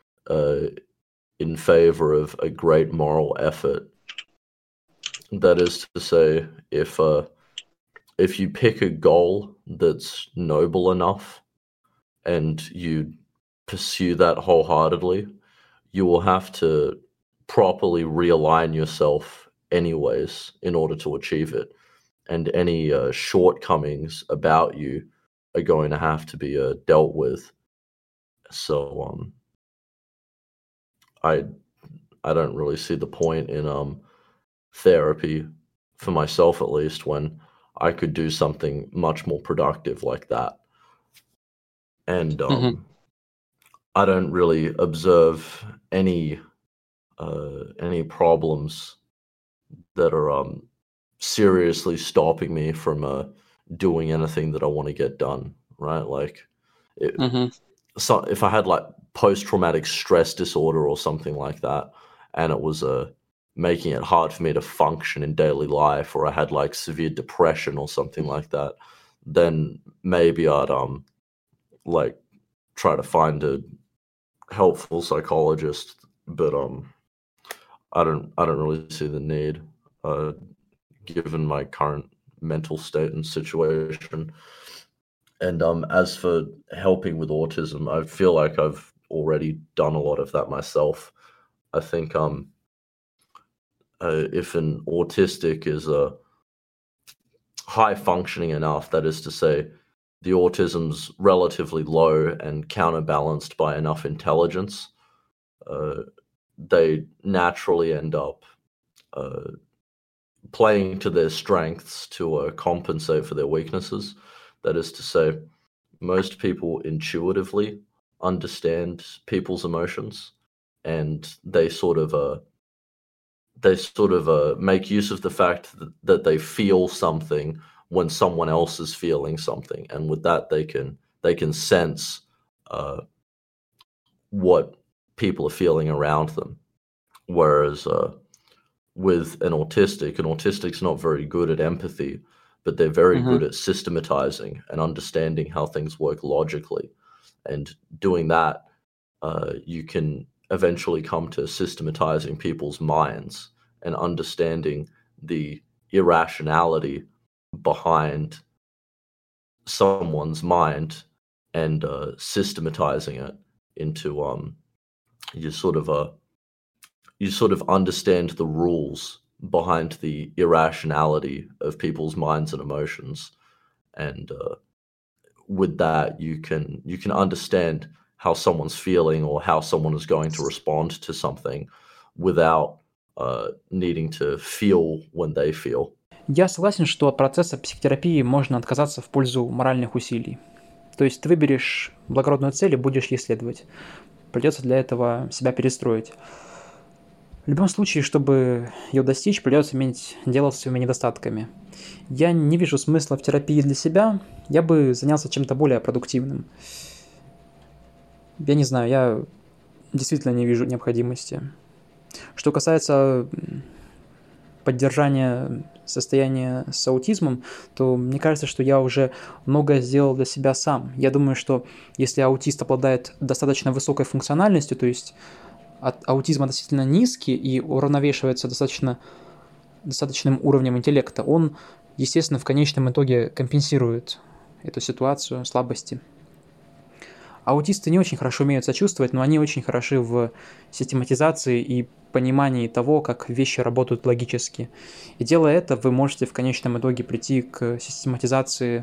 in favor of a great moral effort. That is to say, if you pick a goal that's noble enough and you pursue that wholeheartedly, you will have to properly realign yourself anyways in order to achieve it. And any shortcomings about you are going to have to be dealt with. So I don't really see the point in therapy, for myself at least, when I could do something much more productive like that. And I don't really observe any problems that are seriously stopping me from doing anything that I want to get done, right? Like so if I had like post-traumatic stress disorder or something like that, and it was making it hard for me to function in daily life, or I had like severe depression or something like that, then maybe I'd like try to find a helpful psychologist, but I don't really see the need given my current mental state and situation. And as for helping with autism, I feel like I've already done a lot of that myself. I think if an autistic is high functioning enough, that is to say, the autism's relatively low and counterbalanced by enough intelligence, they naturally end up playing to their strengths to compensate for their weaknesses. That is to say, most people intuitively understand people's emotions, and they sort of make use of the fact that they feel something when someone else is feeling something, and with that they can sense what people are feeling around them. Whereas with an autistic's not very good at empathy, but they're very good at systematizing and understanding how things work logically. And doing that, you can eventually come to systematizing people's minds and understanding the irrationality behind someone's mind and systematizing it into you sort of understand the rules behind the irrationality of people's minds and emotions, and with that you can understand how someone's feeling or how someone is going to respond to something without needing to feel when they feel. Я согласен, что от процесса психотерапии можно отказаться в пользу моральных усилий. То есть ты выберешь благородную цель и будешь ей следовать. Придется для этого себя перестроить. В любом случае, чтобы ее достичь, придется иметь дело с своими недостатками. Я не вижу смысла в терапии для себя, я бы занялся чем-то более продуктивным. Я не знаю, я действительно не вижу необходимости. Что касается поддержания состояния с аутизмом, то мне кажется, что я уже многое сделал для себя сам. Я думаю, что если аутист обладает достаточно высокой функциональностью, то есть от аутизма относительно низкий и уравновешивается достаточным уровнем интеллекта, он, естественно, в конечном итоге компенсирует эту ситуацию, слабости. Аутисты не очень хорошо умеют сочувствовать, но они очень хороши в систематизации и понимании того, как вещи работают логически. И делая это, вы можете в конечном итоге прийти к систематизации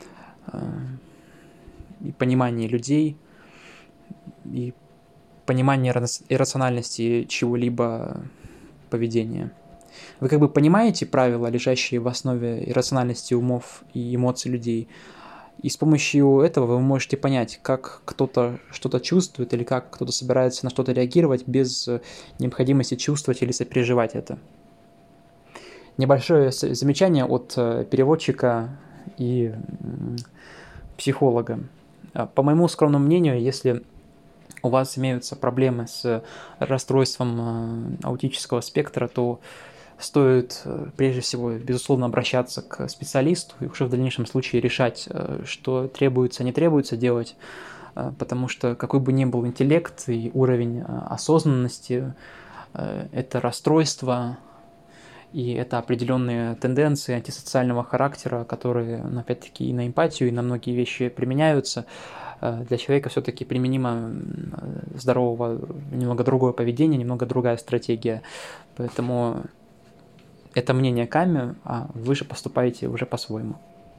и пониманию людей, и пониманию иррациональности чего-либо поведения. Вы как бы понимаете правила, лежащие в основе иррациональности умов и эмоций людей, и с помощью этого вы можете понять, как кто-то что-то чувствует или как кто-то собирается на что-то реагировать без необходимости чувствовать или сопереживать это. Небольшое замечание от переводчика и психолога. По моему скромному мнению, если у вас имеются проблемы с расстройством аутического спектра, то стоит прежде всего, безусловно, обращаться к специалисту и уже в дальнейшем случае решать, что требуется, не требуется делать, потому что какой бы ни был интеллект и уровень осознанности, это расстройство и это определенные тенденции антисоциального характера, которые, опять-таки, и на эмпатию, и на многие вещи применяются. Для человека все-таки применимо здорового, немного другое поведение, немного другая стратегия. Поэтому это мнение Ками, а вы же поступаете уже по-своему.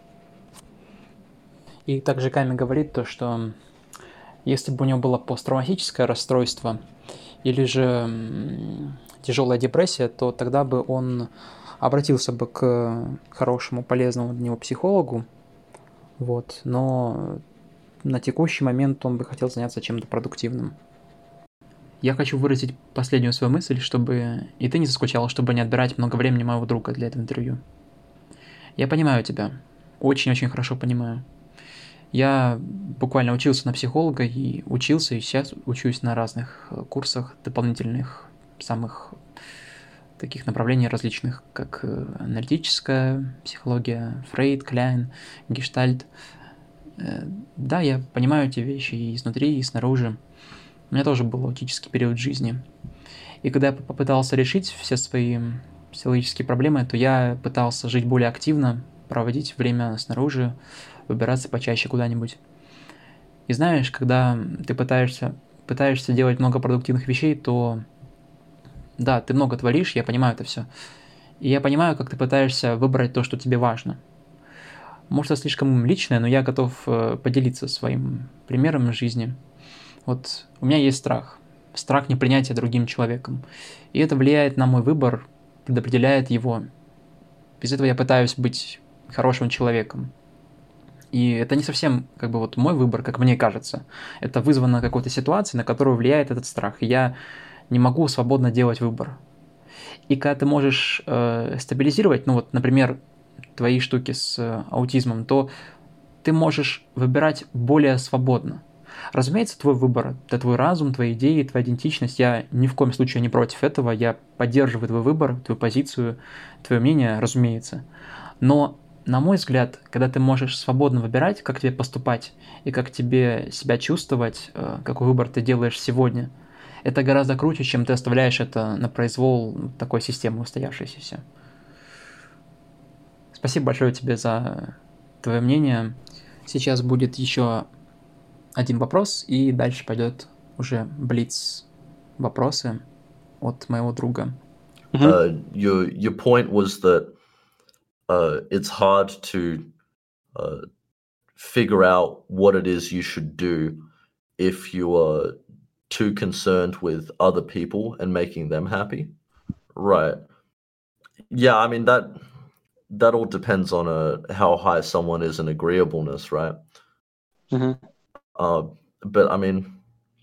И также Ками говорит то, что если бы у него было посттравматическое расстройство или же тяжелая депрессия, то тогда бы он обратился бы к хорошему, полезному для него психологу. Вот. Но на текущий момент он бы хотел заняться чем-то продуктивным. Я хочу выразить последнюю свою мысль, чтобы и ты не заскучал, чтобы не отбирать много времени моего друга для этого интервью. Я понимаю тебя. Очень-очень хорошо понимаю. Я буквально учился на психолога и учился, и сейчас учусь на разных курсах дополнительных, самых таких направлений различных, как аналитическая психология, Фрейд, Кляйн, Гештальт. Да, я понимаю эти вещи и изнутри, и снаружи. У меня тоже был аутический период жизни. И когда я попытался решить все свои психологические проблемы, то я пытался жить более активно, проводить время снаружи, выбираться почаще куда-нибудь. И знаешь, когда ты пытаешься делать много продуктивных вещей, то да, ты много творишь, я понимаю это все. И я понимаю, как ты пытаешься выбрать то, что тебе важно. Может, это слишком личное, но я готов поделиться своим примером из жизни. Вот у меня есть страх. Страх непринятия другим человеком. И это влияет на мой выбор, предопределяет его. Без этого я пытаюсь быть хорошим человеком. И это не совсем как бы вот мой выбор, как мне кажется. Это вызвано какой-то ситуацией, на которую влияет этот страх. И я не могу свободно делать выбор. И когда ты можешь стабилизировать, ну вот, например, твои штуки с аутизмом, то ты можешь выбирать более свободно. Разумеется, твой выбор, это твой разум, твои идеи, твоя идентичность. Я ни в коем случае не против этого. Я поддерживаю твой выбор, твою позицию, твое мнение, разумеется. Но на мой взгляд, когда ты можешь свободно выбирать, как тебе поступать и как тебе себя чувствовать, какой выбор ты делаешь сегодня, это гораздо круче, чем ты оставляешь это на произвол такой системы устоявшейся. Спасибо большое тебе за твое мнение. Сейчас будет еще один вопрос, и дальше пойдет уже блиц вопросы от моего друга. Your point was that it's hard to figure out what it is you should do if you are too concerned with other people and making them happy. Right. Yeah, I mean that all depends on how high someone is in agreeableness, right? But I mean,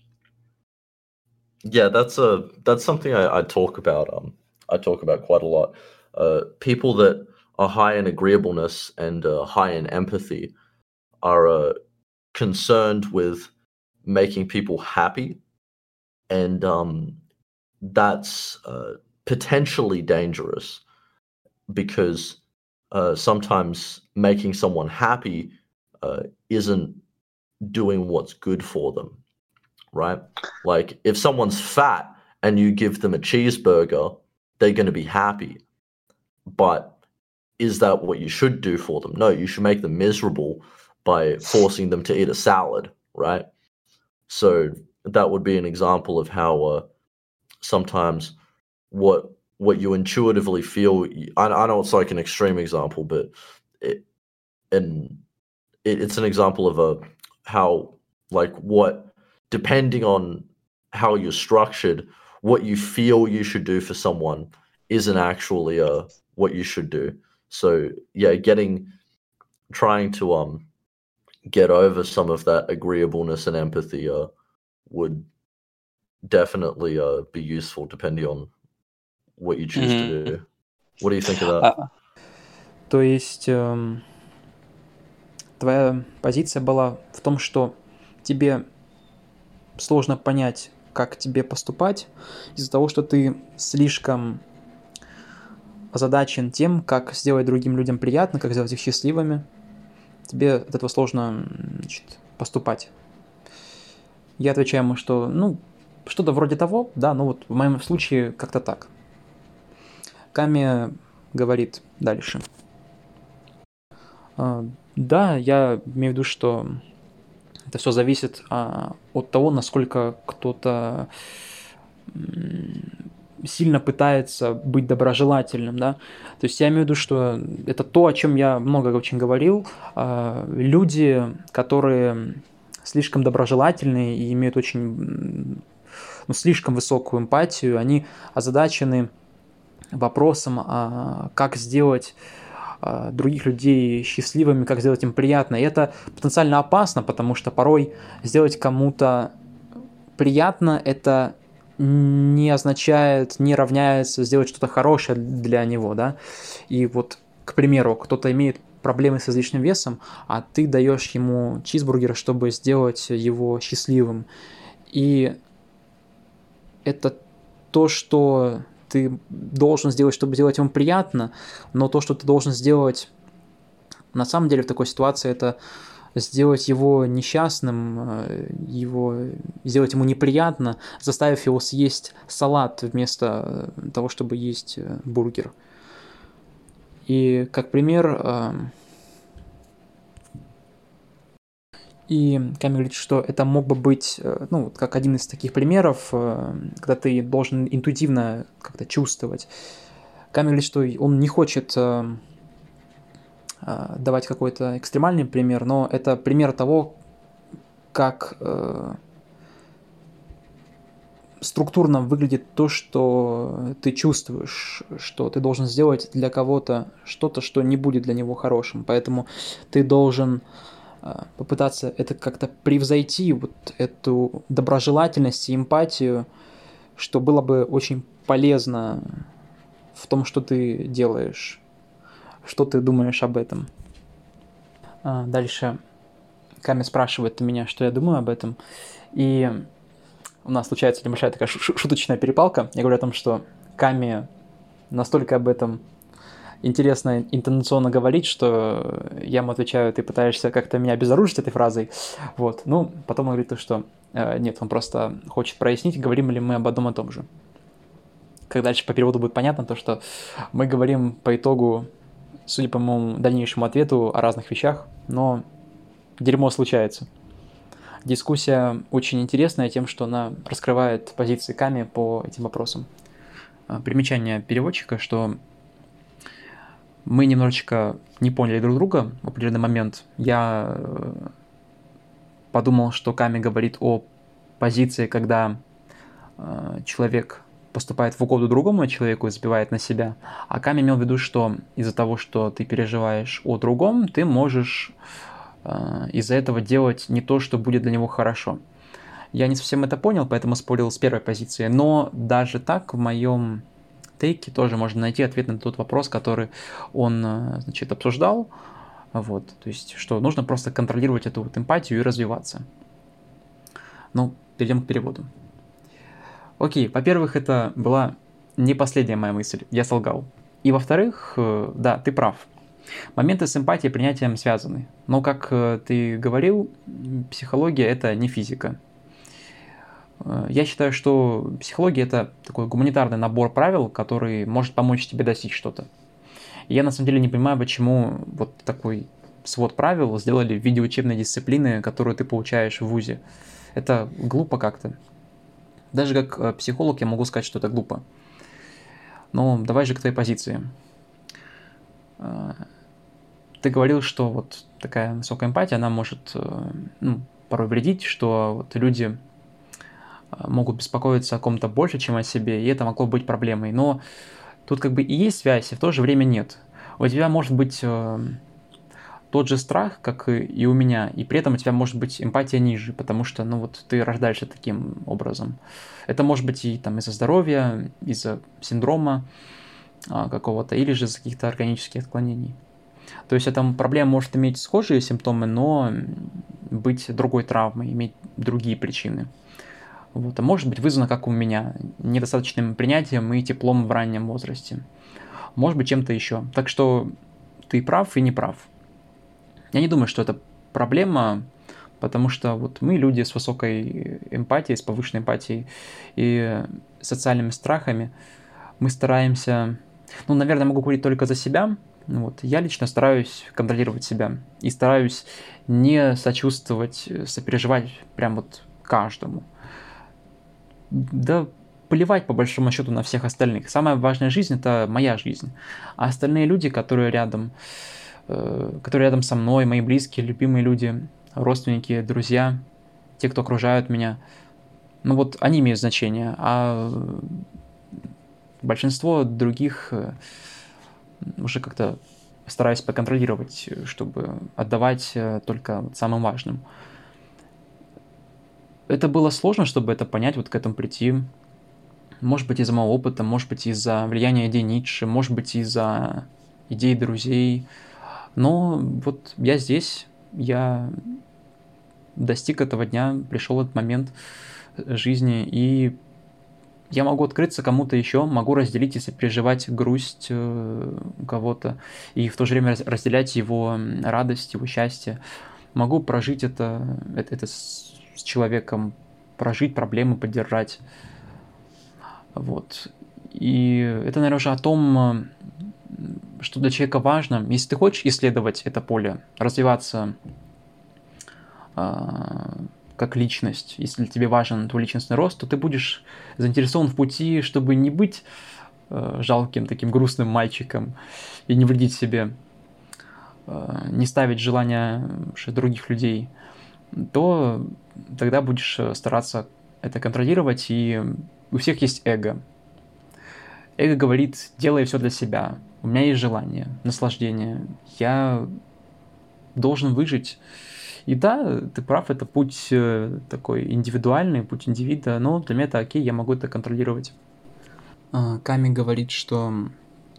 yeah, that's something I talk about. I talk about quite a lot. People that are high in agreeableness and high in empathy are concerned with making people happy, and that's potentially dangerous because sometimes making someone happy isn't doing what's good for them, right? Like if someone's fat and you give them a cheeseburger, they're going to be happy. But is that what you should do for them? No, you should make them miserable by forcing them to eat a salad, right? So that would be an example of how sometimes what you intuitively feel. I know it's like an extreme example, but it's an example of how, like, what, depending on how you're structured, what you feel you should do for someone isn't actually what you should do. So yeah, trying to get over some of that agreeableness and empathy would definitely be useful depending on what you choose to do. What do you think of that? То есть твоя позиция была в том, что тебе сложно понять, как тебе поступать, из-за того, что ты слишком озадачен тем, как сделать другим людям приятно, как сделать их счастливыми. Тебе от этого сложно, поступать. Я отвечаю ему, что, что-то вроде того, да, вот в моем случае как-то так. Ками говорит дальше. Да, я имею в виду, что это все зависит от того, насколько кто-то сильно пытается быть доброжелательным, да. То есть я имею в виду, что это то, о чем я много очень говорил. Люди, которые слишком доброжелательные и имеют очень, слишком высокую эмпатию, они озадачены вопросом, как сделать других людей счастливыми, как сделать им приятно. И это потенциально опасно, потому что порой сделать кому-то приятно, это не означает, не равняется сделать что-то хорошее для него, да. И вот, к примеру, кто-то имеет проблемы с излишним весом, а ты даешь ему чизбургер, чтобы сделать его счастливым. И это то, что ты должен сделать, чтобы сделать ему приятно, но то, что ты должен сделать на самом деле в такой ситуации, это сделать его несчастным, сделать ему неприятно, заставив его съесть салат вместо того, чтобы есть бургер. И как пример, и Ками говорит, что это мог бы быть, как один из таких примеров, когда ты должен интуитивно как-то чувствовать. Ками говорит, что он не хочет давать какой-то экстремальный пример, но это пример того, как структурно выглядит то, что ты чувствуешь, что ты должен сделать для кого-то что-то, что не будет для него хорошим. Поэтому ты должен попытаться это как-то превзойти, вот эту доброжелательность и эмпатию, что было бы очень полезно в том, что ты делаешь. Что ты думаешь об этом? Дальше Ками спрашивает у меня, что я думаю об этом. И у нас случается небольшая такая шуточная перепалка. Я говорю о том, что Ками настолько об этом интересно интонационно говорить, что я ему отвечаю, ты пытаешься как-то меня обезоружить этой фразой. Вот. Ну, потом он говорит, что нет, он просто хочет прояснить, говорим ли мы об одном и том же. Как дальше по переводу будет понятно, то что мы говорим по итогу, судя по моему дальнейшему ответу, о разных вещах, но дерьмо случается. Дискуссия очень интересная тем, что она раскрывает позиции Ками по этим вопросам. Примечание переводчика, что мы немножечко не поняли друг друга в определенный момент. Я подумал, что Ками говорит о позиции, когда человек поступает в угоду другому человеку и забивает на себя. А Ками имел в виду, что из-за того, что ты переживаешь о другом, ты можешь из-за этого делать не то, что будет для него хорошо. Я не совсем это понял, поэтому спорил с первой позицией. Но даже так в моем тейке тоже можно найти ответ на тот вопрос, который он, значит, обсуждал. Вот, то есть, что нужно просто контролировать эту вот эмпатию и развиваться. Ну, перейдем к переводу. Окей, во-первых, это была не последняя моя мысль, я солгал. И во-вторых, да, ты прав. Моменты с эмпатией и принятием связаны. Но, как ты говорил, психология – это не физика. Я считаю, что психология – это такой гуманитарный набор правил, который может помочь тебе достичь что-то. И я на самом деле не понимаю, почему вот такой свод правил сделали в виде учебной дисциплины, которую ты получаешь в вузе. Это глупо как-то. Даже как психолог я могу сказать, что это глупо. Но давай же к твоей позиции. Ты говорил, что вот такая высокая эмпатия, она может порой вредить, что вот люди могут беспокоиться о ком-то больше, чем о себе, и это могло быть проблемой. Но тут как бы и есть связь, и в то же время нет. У тебя может быть тот же страх, как и у меня, и при этом у тебя может быть эмпатия ниже, потому что, вот ты рождаешься таким образом. Это может быть и там из-за здоровья, из-за синдрома какого-то, или же из-за каких-то органических отклонений. То есть эта проблема может иметь схожие симптомы, но быть другой травмой, иметь другие причины. Вот. А может быть вызвано, как у меня, недостаточным принятием и теплом в раннем возрасте. Может быть чем-то еще. Так что ты прав и не прав. Я не думаю, что это проблема, потому что вот мы люди с высокой эмпатией, с повышенной эмпатией и социальными страхами, мы стараемся, наверное, могу говорить только за себя. Вот. Я лично стараюсь контролировать себя и стараюсь не сочувствовать, сопереживать прям вот каждому. Да плевать по большому счету на всех остальных. Самая важная жизнь – это моя жизнь. А остальные люди, которые рядом со мной, мои близкие, любимые люди, родственники, друзья, те, кто окружают меня, они имеют значение. А большинство других уже как-то стараюсь поконтролировать, чтобы отдавать только самым важным. Это было сложно, чтобы это понять, вот к этому прийти. Может быть, из-за моего опыта, может быть, из-за влияния идей Ницше, может быть, из-за идей друзей. Но вот я здесь, я достиг этого дня, пришел этот момент жизни, и я могу открыться кому-то еще, могу разделить и сопереживать грусть кого-то, и в то же время разделять его радость, его счастье. Могу прожить это с человеком, прожить проблемы, поддержать. Вот. И это, наверное, уже о том, что для человека важно. Если ты хочешь исследовать это поле, развиваться как личность, если тебе важен твой личностный рост, то ты будешь заинтересован в пути, чтобы не быть жалким, таким грустным мальчиком и не вредить себе, не ставить желания других людей, то тогда будешь стараться это контролировать, и у всех есть эго. Эго говорит: делай все для себя, у меня есть желание, наслаждение, я должен выжить. И да, ты прав, это путь такой индивидуальный, путь индивида, но для меня это окей, я могу это контролировать. Ками говорит, что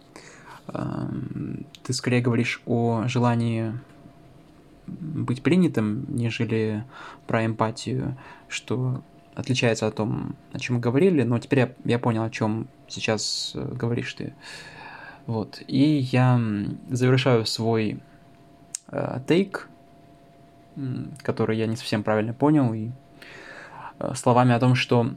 ты скорее говоришь о желании быть принятым, нежели про эмпатию, что отличается от том, о чем мы говорили, но теперь я понял, о чем сейчас говоришь ты. Вот. И я завершаю свой тейк, который я не совсем правильно понял, и словами о том, что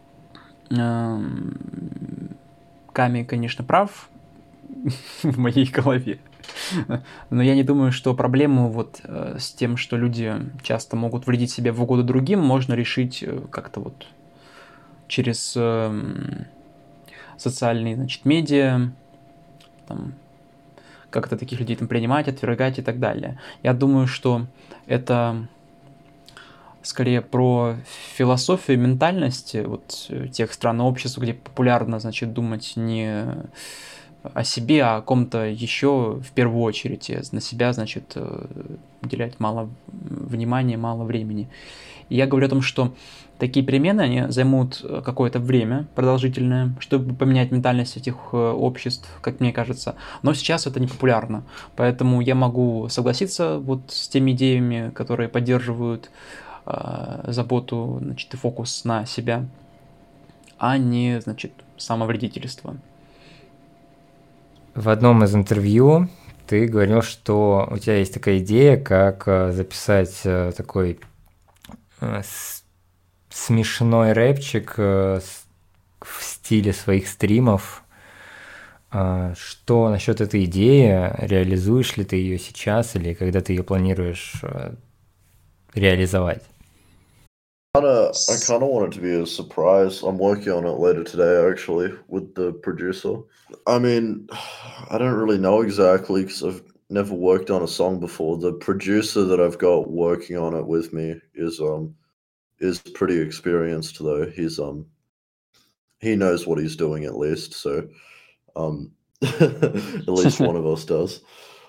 Ками, конечно, прав в моей голове, но я не думаю, что проблему вот с тем, что люди часто могут вредить себе в угоду другим, можно решить как-то вот через социальные, значит, медиа, там, как-то таких людей там принимать, отвергать и так далее. Я думаю, что это скорее про философию, ментальность вот тех стран и обществ, где популярно, значит, думать не о себе, а о ком-то еще в первую очередь. И на себя, значит, уделять мало внимания, мало времени. И я говорю о том, что такие перемены, они займут какое-то время продолжительное, чтобы поменять ментальность этих обществ, как мне кажется. Но сейчас это не популярно. Поэтому я могу согласиться вот с теми идеями, которые поддерживают заботу, значит, и фокус на себя, а не, значит, самовредительство. В одном из интервью ты говорил, что у тебя есть такая идея, как записать такой смешной рэпчик в стиле своих стримов. Что насчет этой идеи? Реализуешь ли ты ее сейчас или когда ты ее планируешь реализовать? I kind of want it to be a surprise. I'm working on it later today, actually, with the producer. I mean, I don't really know exactly because I've never worked on a song before. The producer that I've got working on it with me is pretty experienced though. He knows what he's doing at least. So at least one of us does.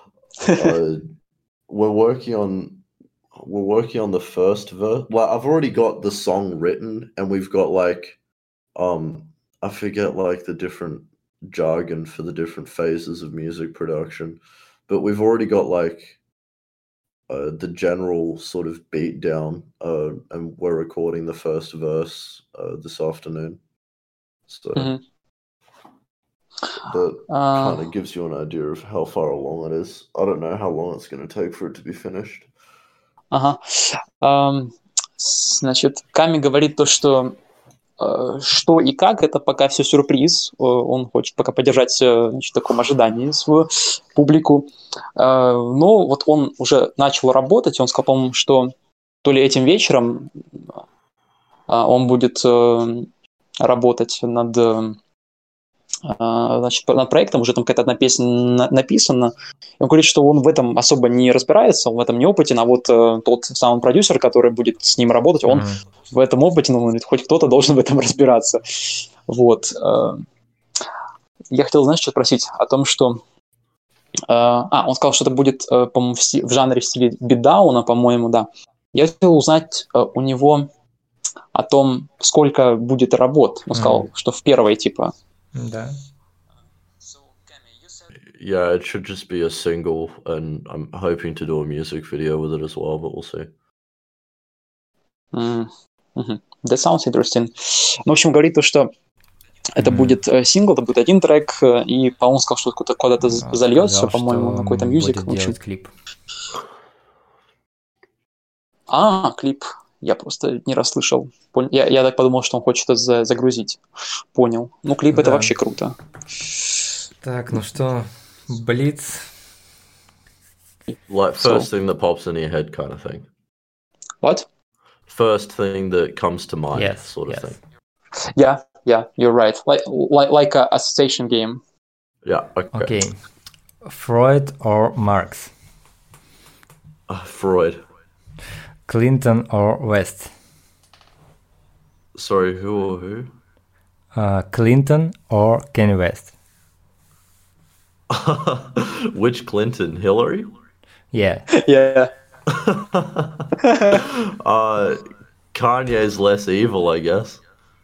We're working on the first verse. Well, I've already got the song written, and we've got like, I forget like the different jargon for the different phases of music production, but we've already got like the general sort of beat down, and we're recording the first verse this afternoon. So that kind of gives you an idea of how far along it is. I don't know how long it's going to take for it to be finished. Ага. Значит, Ками говорит то, что и как, это пока все сюрприз. Он хочет пока поддержать, значит, в таком ожидании свою публику. Но вот он уже начал работать, он сказал, по-моему, что то ли этим вечером он будет работать над проектом, уже там какая-то одна песня написана. Он говорит, что он в этом особо не разбирается, он в этом не опытен, а вот тот самый продюсер, который будет с ним работать, он в этом опытен, он говорит, хоть кто-то должен в этом разбираться. Вот. Я хотел, знаешь, что спросить о том, что... он сказал, что это будет, по-моему, в жанре, в стиле битдауна, по-моему, да. Я хотел узнать у него о том, сколько будет работ. Он сказал, что в первой, типа... Да. Yeah, it should just be a single, and I'm hoping to do a music video with it as well, but we'll see. That sounds interesting. Ну, в общем, говорит то, что это будет сингл, это будет один трек, и, по-моему, сказал, что куда-то зальется, по-моему, на какой-то мьюзик. Будет делать клип. Клип. Я просто не расслышал. Я так подумал, что он хочет это загрузить. Понял. Ну, клип это вообще круто. Так, ну что, Блиц? Like first thing that pops in your head kind of thing. What? First thing that comes to mind, sort of thing. Yeah, you're right. Like a association game. Yeah, okay. Freud or Marx? Freud. Clinton or West? Sorry, who or who? Clinton or Kanye West? Which Clinton? Hillary? Yeah. Yeah. Kanye's less evil, I guess.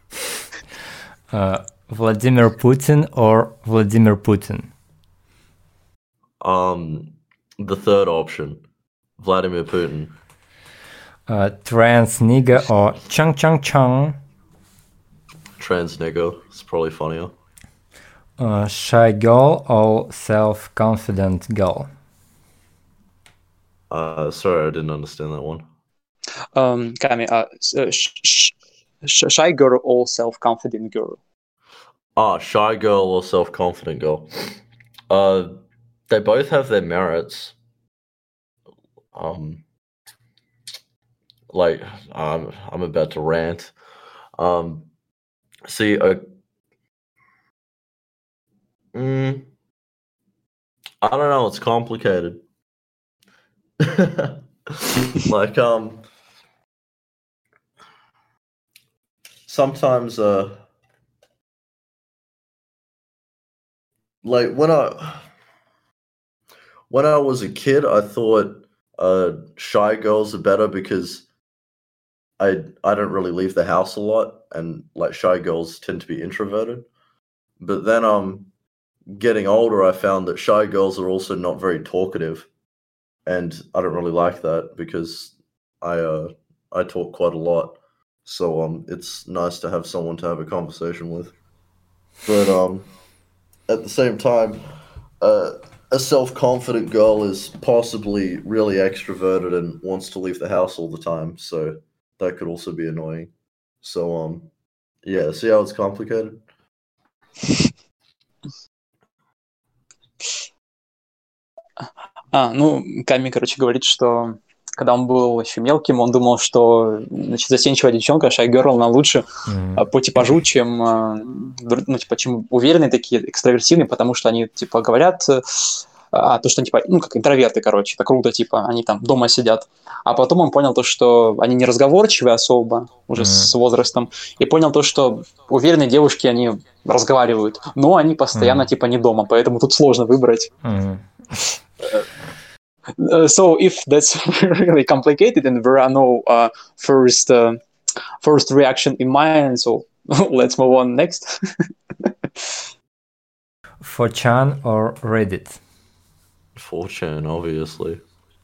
Vladimir Putin or Vladimir Putin? The third option, Vladimir Putin. Trans nigga or Chung Chung Chung? Trans nigga. It's probably funnier. Shy girl or self-confident girl? Sorry, I didn't understand that one. Kami, shy girl or self-confident girl? Shy girl or self-confident girl? They both have their merits. Like I'm about to rant. See, I don't know. It's complicated. Like sometimes like when I was a kid, I thought shy girls are better because I don't really leave the house a lot, and like shy girls tend to be introverted. But then getting older, I found that shy girls are also not very talkative, and I don't really like that because I talk quite a lot. So it's nice to have someone to have a conversation with. But at the same time, a self-confident girl is possibly really extroverted and wants to leave the house all the time, so that could also be annoying. So yeah, see how it's complicated? Ну, Ками, короче, говорит, что когда он был еще мелким, он думал, что, значит, застенчивая девчонка, shy girl, она лучше по типажу, чем, ну, типа, чем уверенные такие, экстравертивные, потому что они, типа, говорят, то, что, типа, ну, как интроверты, короче, это круто, типа, они там дома сидят. А потом он понял то, что они не разговорчивые особо, уже с возрастом, и понял то, что уверенные девушки, они разговаривают, но они постоянно, типа, не дома, поэтому тут сложно выбрать. So if that's really complicated and there are no first reaction in mind, so let's move on next. 4chan or Reddit? 4chan, obviously.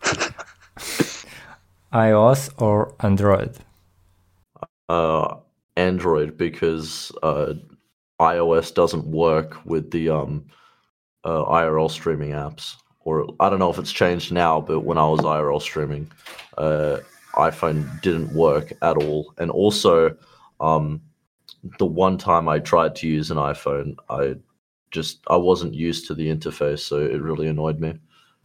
iOS or Android? Android, because iOS doesn't work with the IRL streaming apps. Or I don't know if it's changed now, but when I was IRL streaming, iPhone didn't work at all. And also, the one time I tried to use an iPhone, I wasn't used to the interface, so it really annoyed me.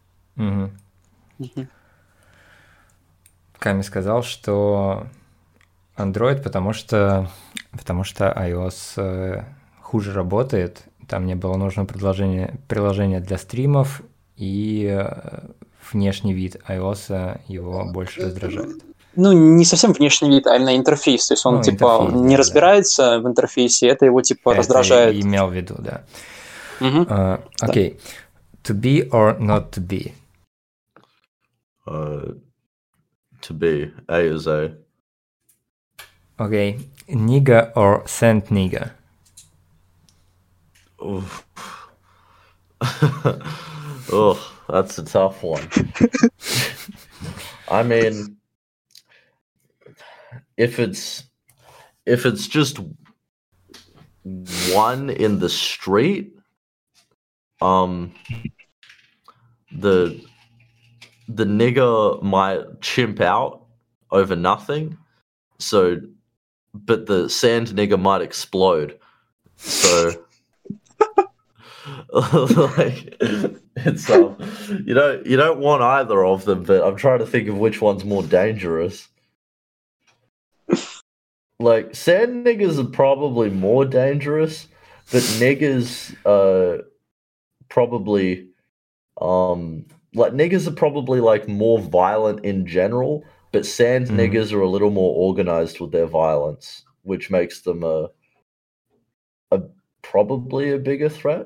Ками сказал, что Android, потому что iOS хуже работает, там не было нужного приложения для стримов, и внешний вид iOS его больше раздражает. Ну, не совсем внешний вид, а именно интерфейс. То есть он, типа, не разбирается в интерфейсе, это его, типа, раздражает. Это имел в виду, да. Окей. To be or not to be? To be. A is A. Okay. Nigga or Saint Nigga? Oh, that's a tough one. I mean, if it's just one in the street, the nigger might chimp out over nothing. So, but the sand nigger might explode. So. Like it's you don't want either of them, but I'm trying to think of which one's more dangerous. Like sand niggers are probably more dangerous, but niggers probably like niggers are probably like more violent in general, but sand niggers are a little more organized with their violence, which makes them probably a bigger threat.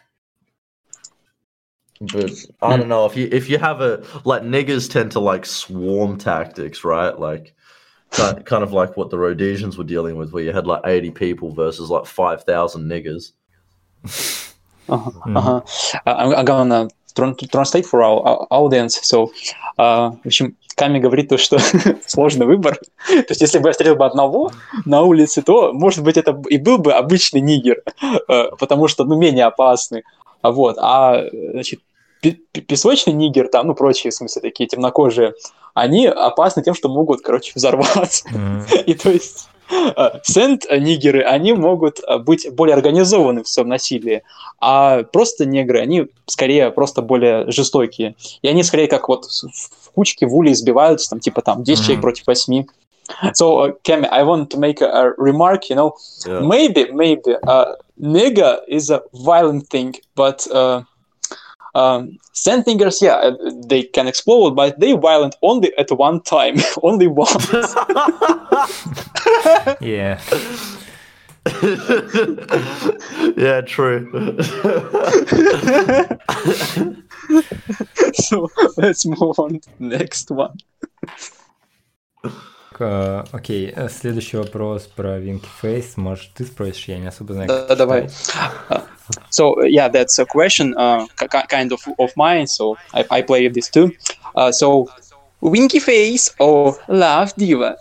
But I don't know, if you have like niggers tend to like swarm tactics, right? Like kind of like what the Rhodesians were dealing with, where you had like 80 people versus like 5,000 niggers. I'm gonna translate for our audience. So, в общем, Ками говорит то, что сложный выбор. То есть, если бы я встретил бы одного на улице, то, может быть, это и был бы обычный нигер, потому что, менее опасный. Вот. Значит, песочный нигер, там, прочие, в смысле, такие темнокожие, они опасны тем, что могут, взорваться. И то есть сент-нигеры, они могут быть более организованы в своем насилии, а просто негры, они скорее просто более жестокие. И они скорее как в кучке в улей сбиваются, 10 человек против 8. So, Kemi, I want to make a remark, maybe nigger is a violent thing, but sand niggers, they can explode, but they violent only at one time, only once. Yeah. Yeah, true. So, let's move on to the next one. Окей, следующий вопрос про Winky Face. Может, ты спросишь? Я не особо знаю, как давай. So, that's a question kind of mine, so I play this too. So, Winky Face or Love Diva?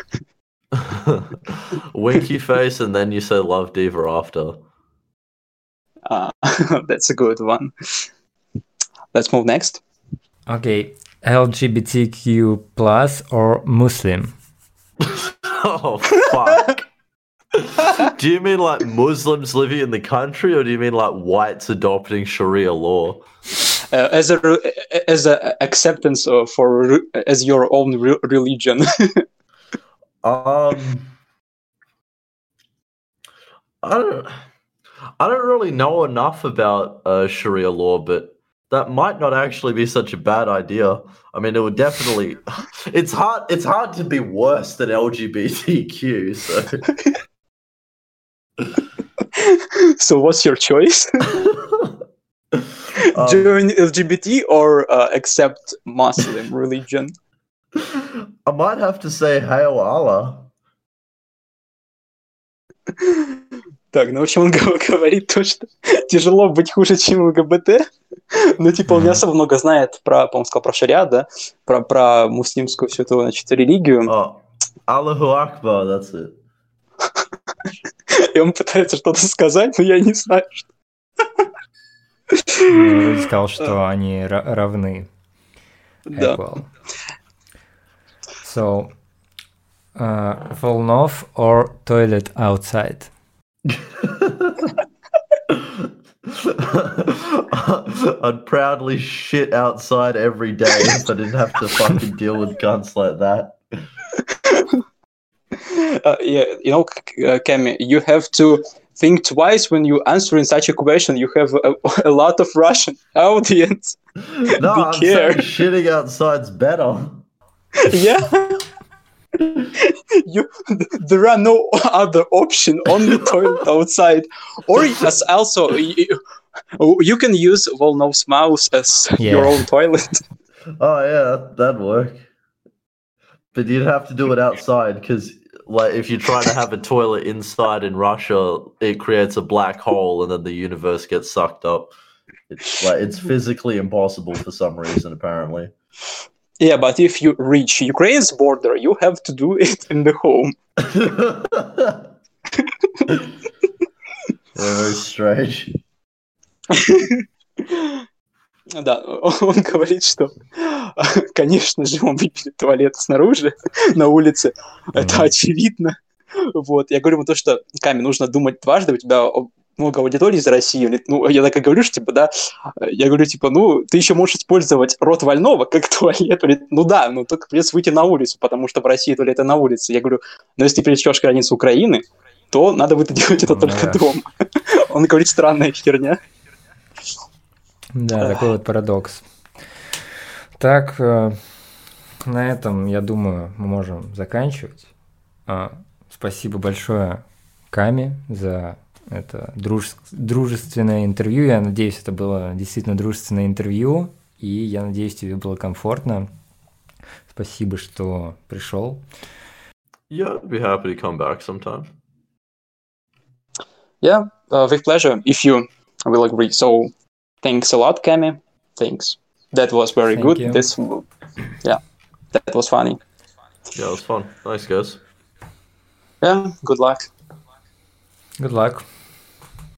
Winky Face, and then you say Love Diva after. That's a good one. Let's move next. Okay, LGBTQ plus or Muslim? Oh, fuck. Do you mean like Muslims living in the country, or do you mean like whites adopting Sharia law? As a acceptance for as your own religion. I don't really know enough about Sharia law, but that might not actually be such a bad idea. I mean, it would definitely. It's hard to be worse than LGBTQ. So, what's your choice? Join LGBT or accept Muslim religion? I might have to say Hail Allah. Так, в общем, он говорит то, что тяжело быть хуже, чем ЛГБТ. Он не особо много знает по-моему, сказал про шариат, да? Про муслимскую всю эту, религию. Аллаху Акбар, that's it. И он пытается что-то сказать, но я не знаю, что. Я сказал, что они равны. Да. So, Volnov or toilet outside? I'd proudly shit outside every day if I didn't have to fucking deal with guns like that. Kemi, you have to think twice when you answer in such a question. You have a lot of Russian audience. No, I'm saying shitting outside's better. Yeah. There are no other option, only toilet outside. Or also, you can use Volnov's mouse as your own toilet. Oh yeah, that'd work. But you'd have to do it outside, because if you try to have a toilet inside in Russia, it creates a black hole and then the universe gets sucked up. It's physically impossible for some reason, apparently. Yeah, but if you reach Ukraine's border, you have to do it in the home. Yeah, very strange. Да, он говорит, что, конечно же, он выберет туалет снаружи, на улице. Это очевидно. Вот. Я говорю ему то, что, Ками, нужно думать дважды, у тебя много аудитории из России. Я так и говорю, что, я говорю, ты еще можешь использовать рот вольного как туалет. Только придется выйти на улицу, потому что в России туалеты на улице. Я говорю, если ты пересечешь границу Украины, то надо будет делать это только дома. Он говорит, странная херня. Да, такой вот парадокс. Так, на этом, я думаю, мы можем заканчивать. Спасибо большое, Ками, за это дружественное интервью. Я надеюсь, это было действительно дружественное интервью, и я надеюсь, тебе было комфортно. Спасибо, что пришел. Yeah, I'd be happy to come back sometime. Yeah, with pleasure, if you will agree. So, thanks a lot, Kami, things. That was very Thank good. you. That was funny. Yeah, it was fun. Thanks, guys. Yeah, good luck. Good luck.